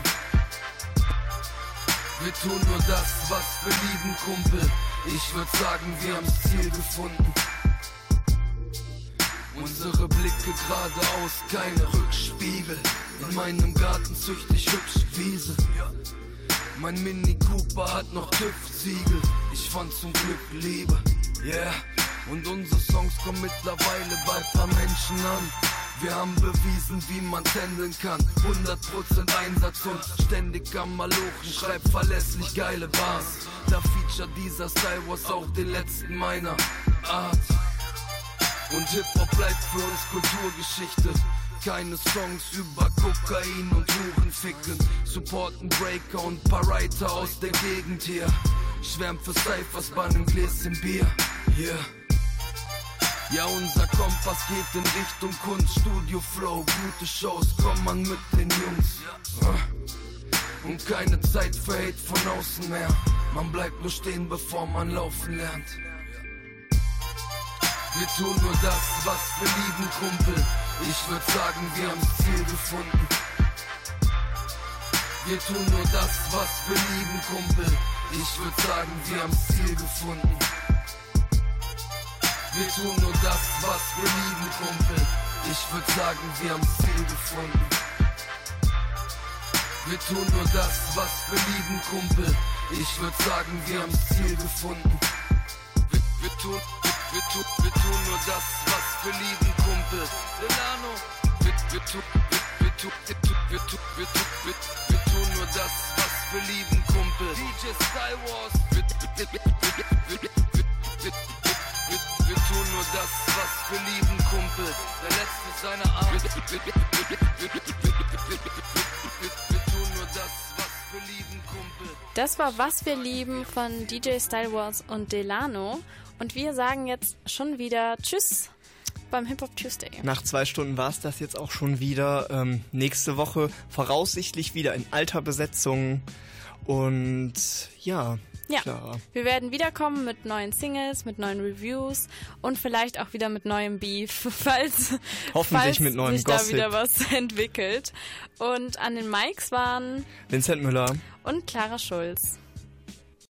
Wir tun nur das, was wir lieben, Kumpel. Ich würd sagen, wir haben's Ziel gefunden. Unsere Blicke geradeaus, keine Rückspiegel. In meinem Garten zücht ich hübsch Wiese. Mein Mini Cooper hat noch TÜV-Siegel. Ich fand zum Glück Liebe, yeah. Und unsere Songs kommen mittlerweile bei paar Menschen an. Wir haben bewiesen, wie man tändeln kann. hundert Prozent Einsatz und ständig am Malochen. Schreib verlässlich geile Bars. Da feature dieser Style Wars auch den letzten meiner Art. Und Hip-Hop bleibt für uns Kulturgeschichte. Keine Songs über Kokain und Hurenficken. Supporten Breaker und paar Writer aus der Gegend hier. Schwärmt für Cyphers bei einem Gläschen Bier. Yeah. Ja, unser Kompass geht in Richtung Kunst, Studio Flow, gute Shows, komm man mit den Jungs. Und keine Zeit für Hate von außen mehr. Man bleibt nur stehen, bevor man laufen lernt. Wir tun nur das, was wir lieben, Kumpel. Ich würd sagen, wir haben's Ziel gefunden. Wir tun nur das, was wir lieben, Kumpel. Ich würd sagen, wir haben's Ziel gefunden. Wir tun nur das, was wir lieben, Kumpel. Ich würd sagen, wir haben's Ziel gefunden. Wir tun nur das, was wir lieben, Kumpel. Ich würd sagen, wir haben's Ziel gefunden. Wir, wir, tun, wir, wir, tun, wir tun nur das, was wir lieben, Kumpel. Delano. Wir, wir, tun, wir, wir, tun, wir, tun, wir, tun, wir, tun, wir, wir tun nur das, was wir lieben, Kumpel. D J Style Wars. Wir, wir, wir, wir, wir, wir, wir tun nur das, was wir lieben, Kumpel. Der letzte seiner Art. Wir, wir, wir, wir, wir, wir tun nur das, was wir lieben, Kumpel.
Das war Was wir lieben von D J Style Wars und Delano. Und wir sagen jetzt schon wieder Tschüss beim Hip-Hop Tuesday.
Nach zwei Stunden war es das jetzt auch schon wieder. Ähm, nächste Woche voraussichtlich wieder in alter Besetzung. Und ja...
Ja,
Klar.
Wir werden wiederkommen mit neuen Singles, mit neuen Reviews und vielleicht auch wieder mit neuem Beef, falls,
Hoffentlich
falls
mit neuem
sich
Gossip.
da wieder was entwickelt. Und an den Mics waren
Vincent Müller
und Clara Schulz.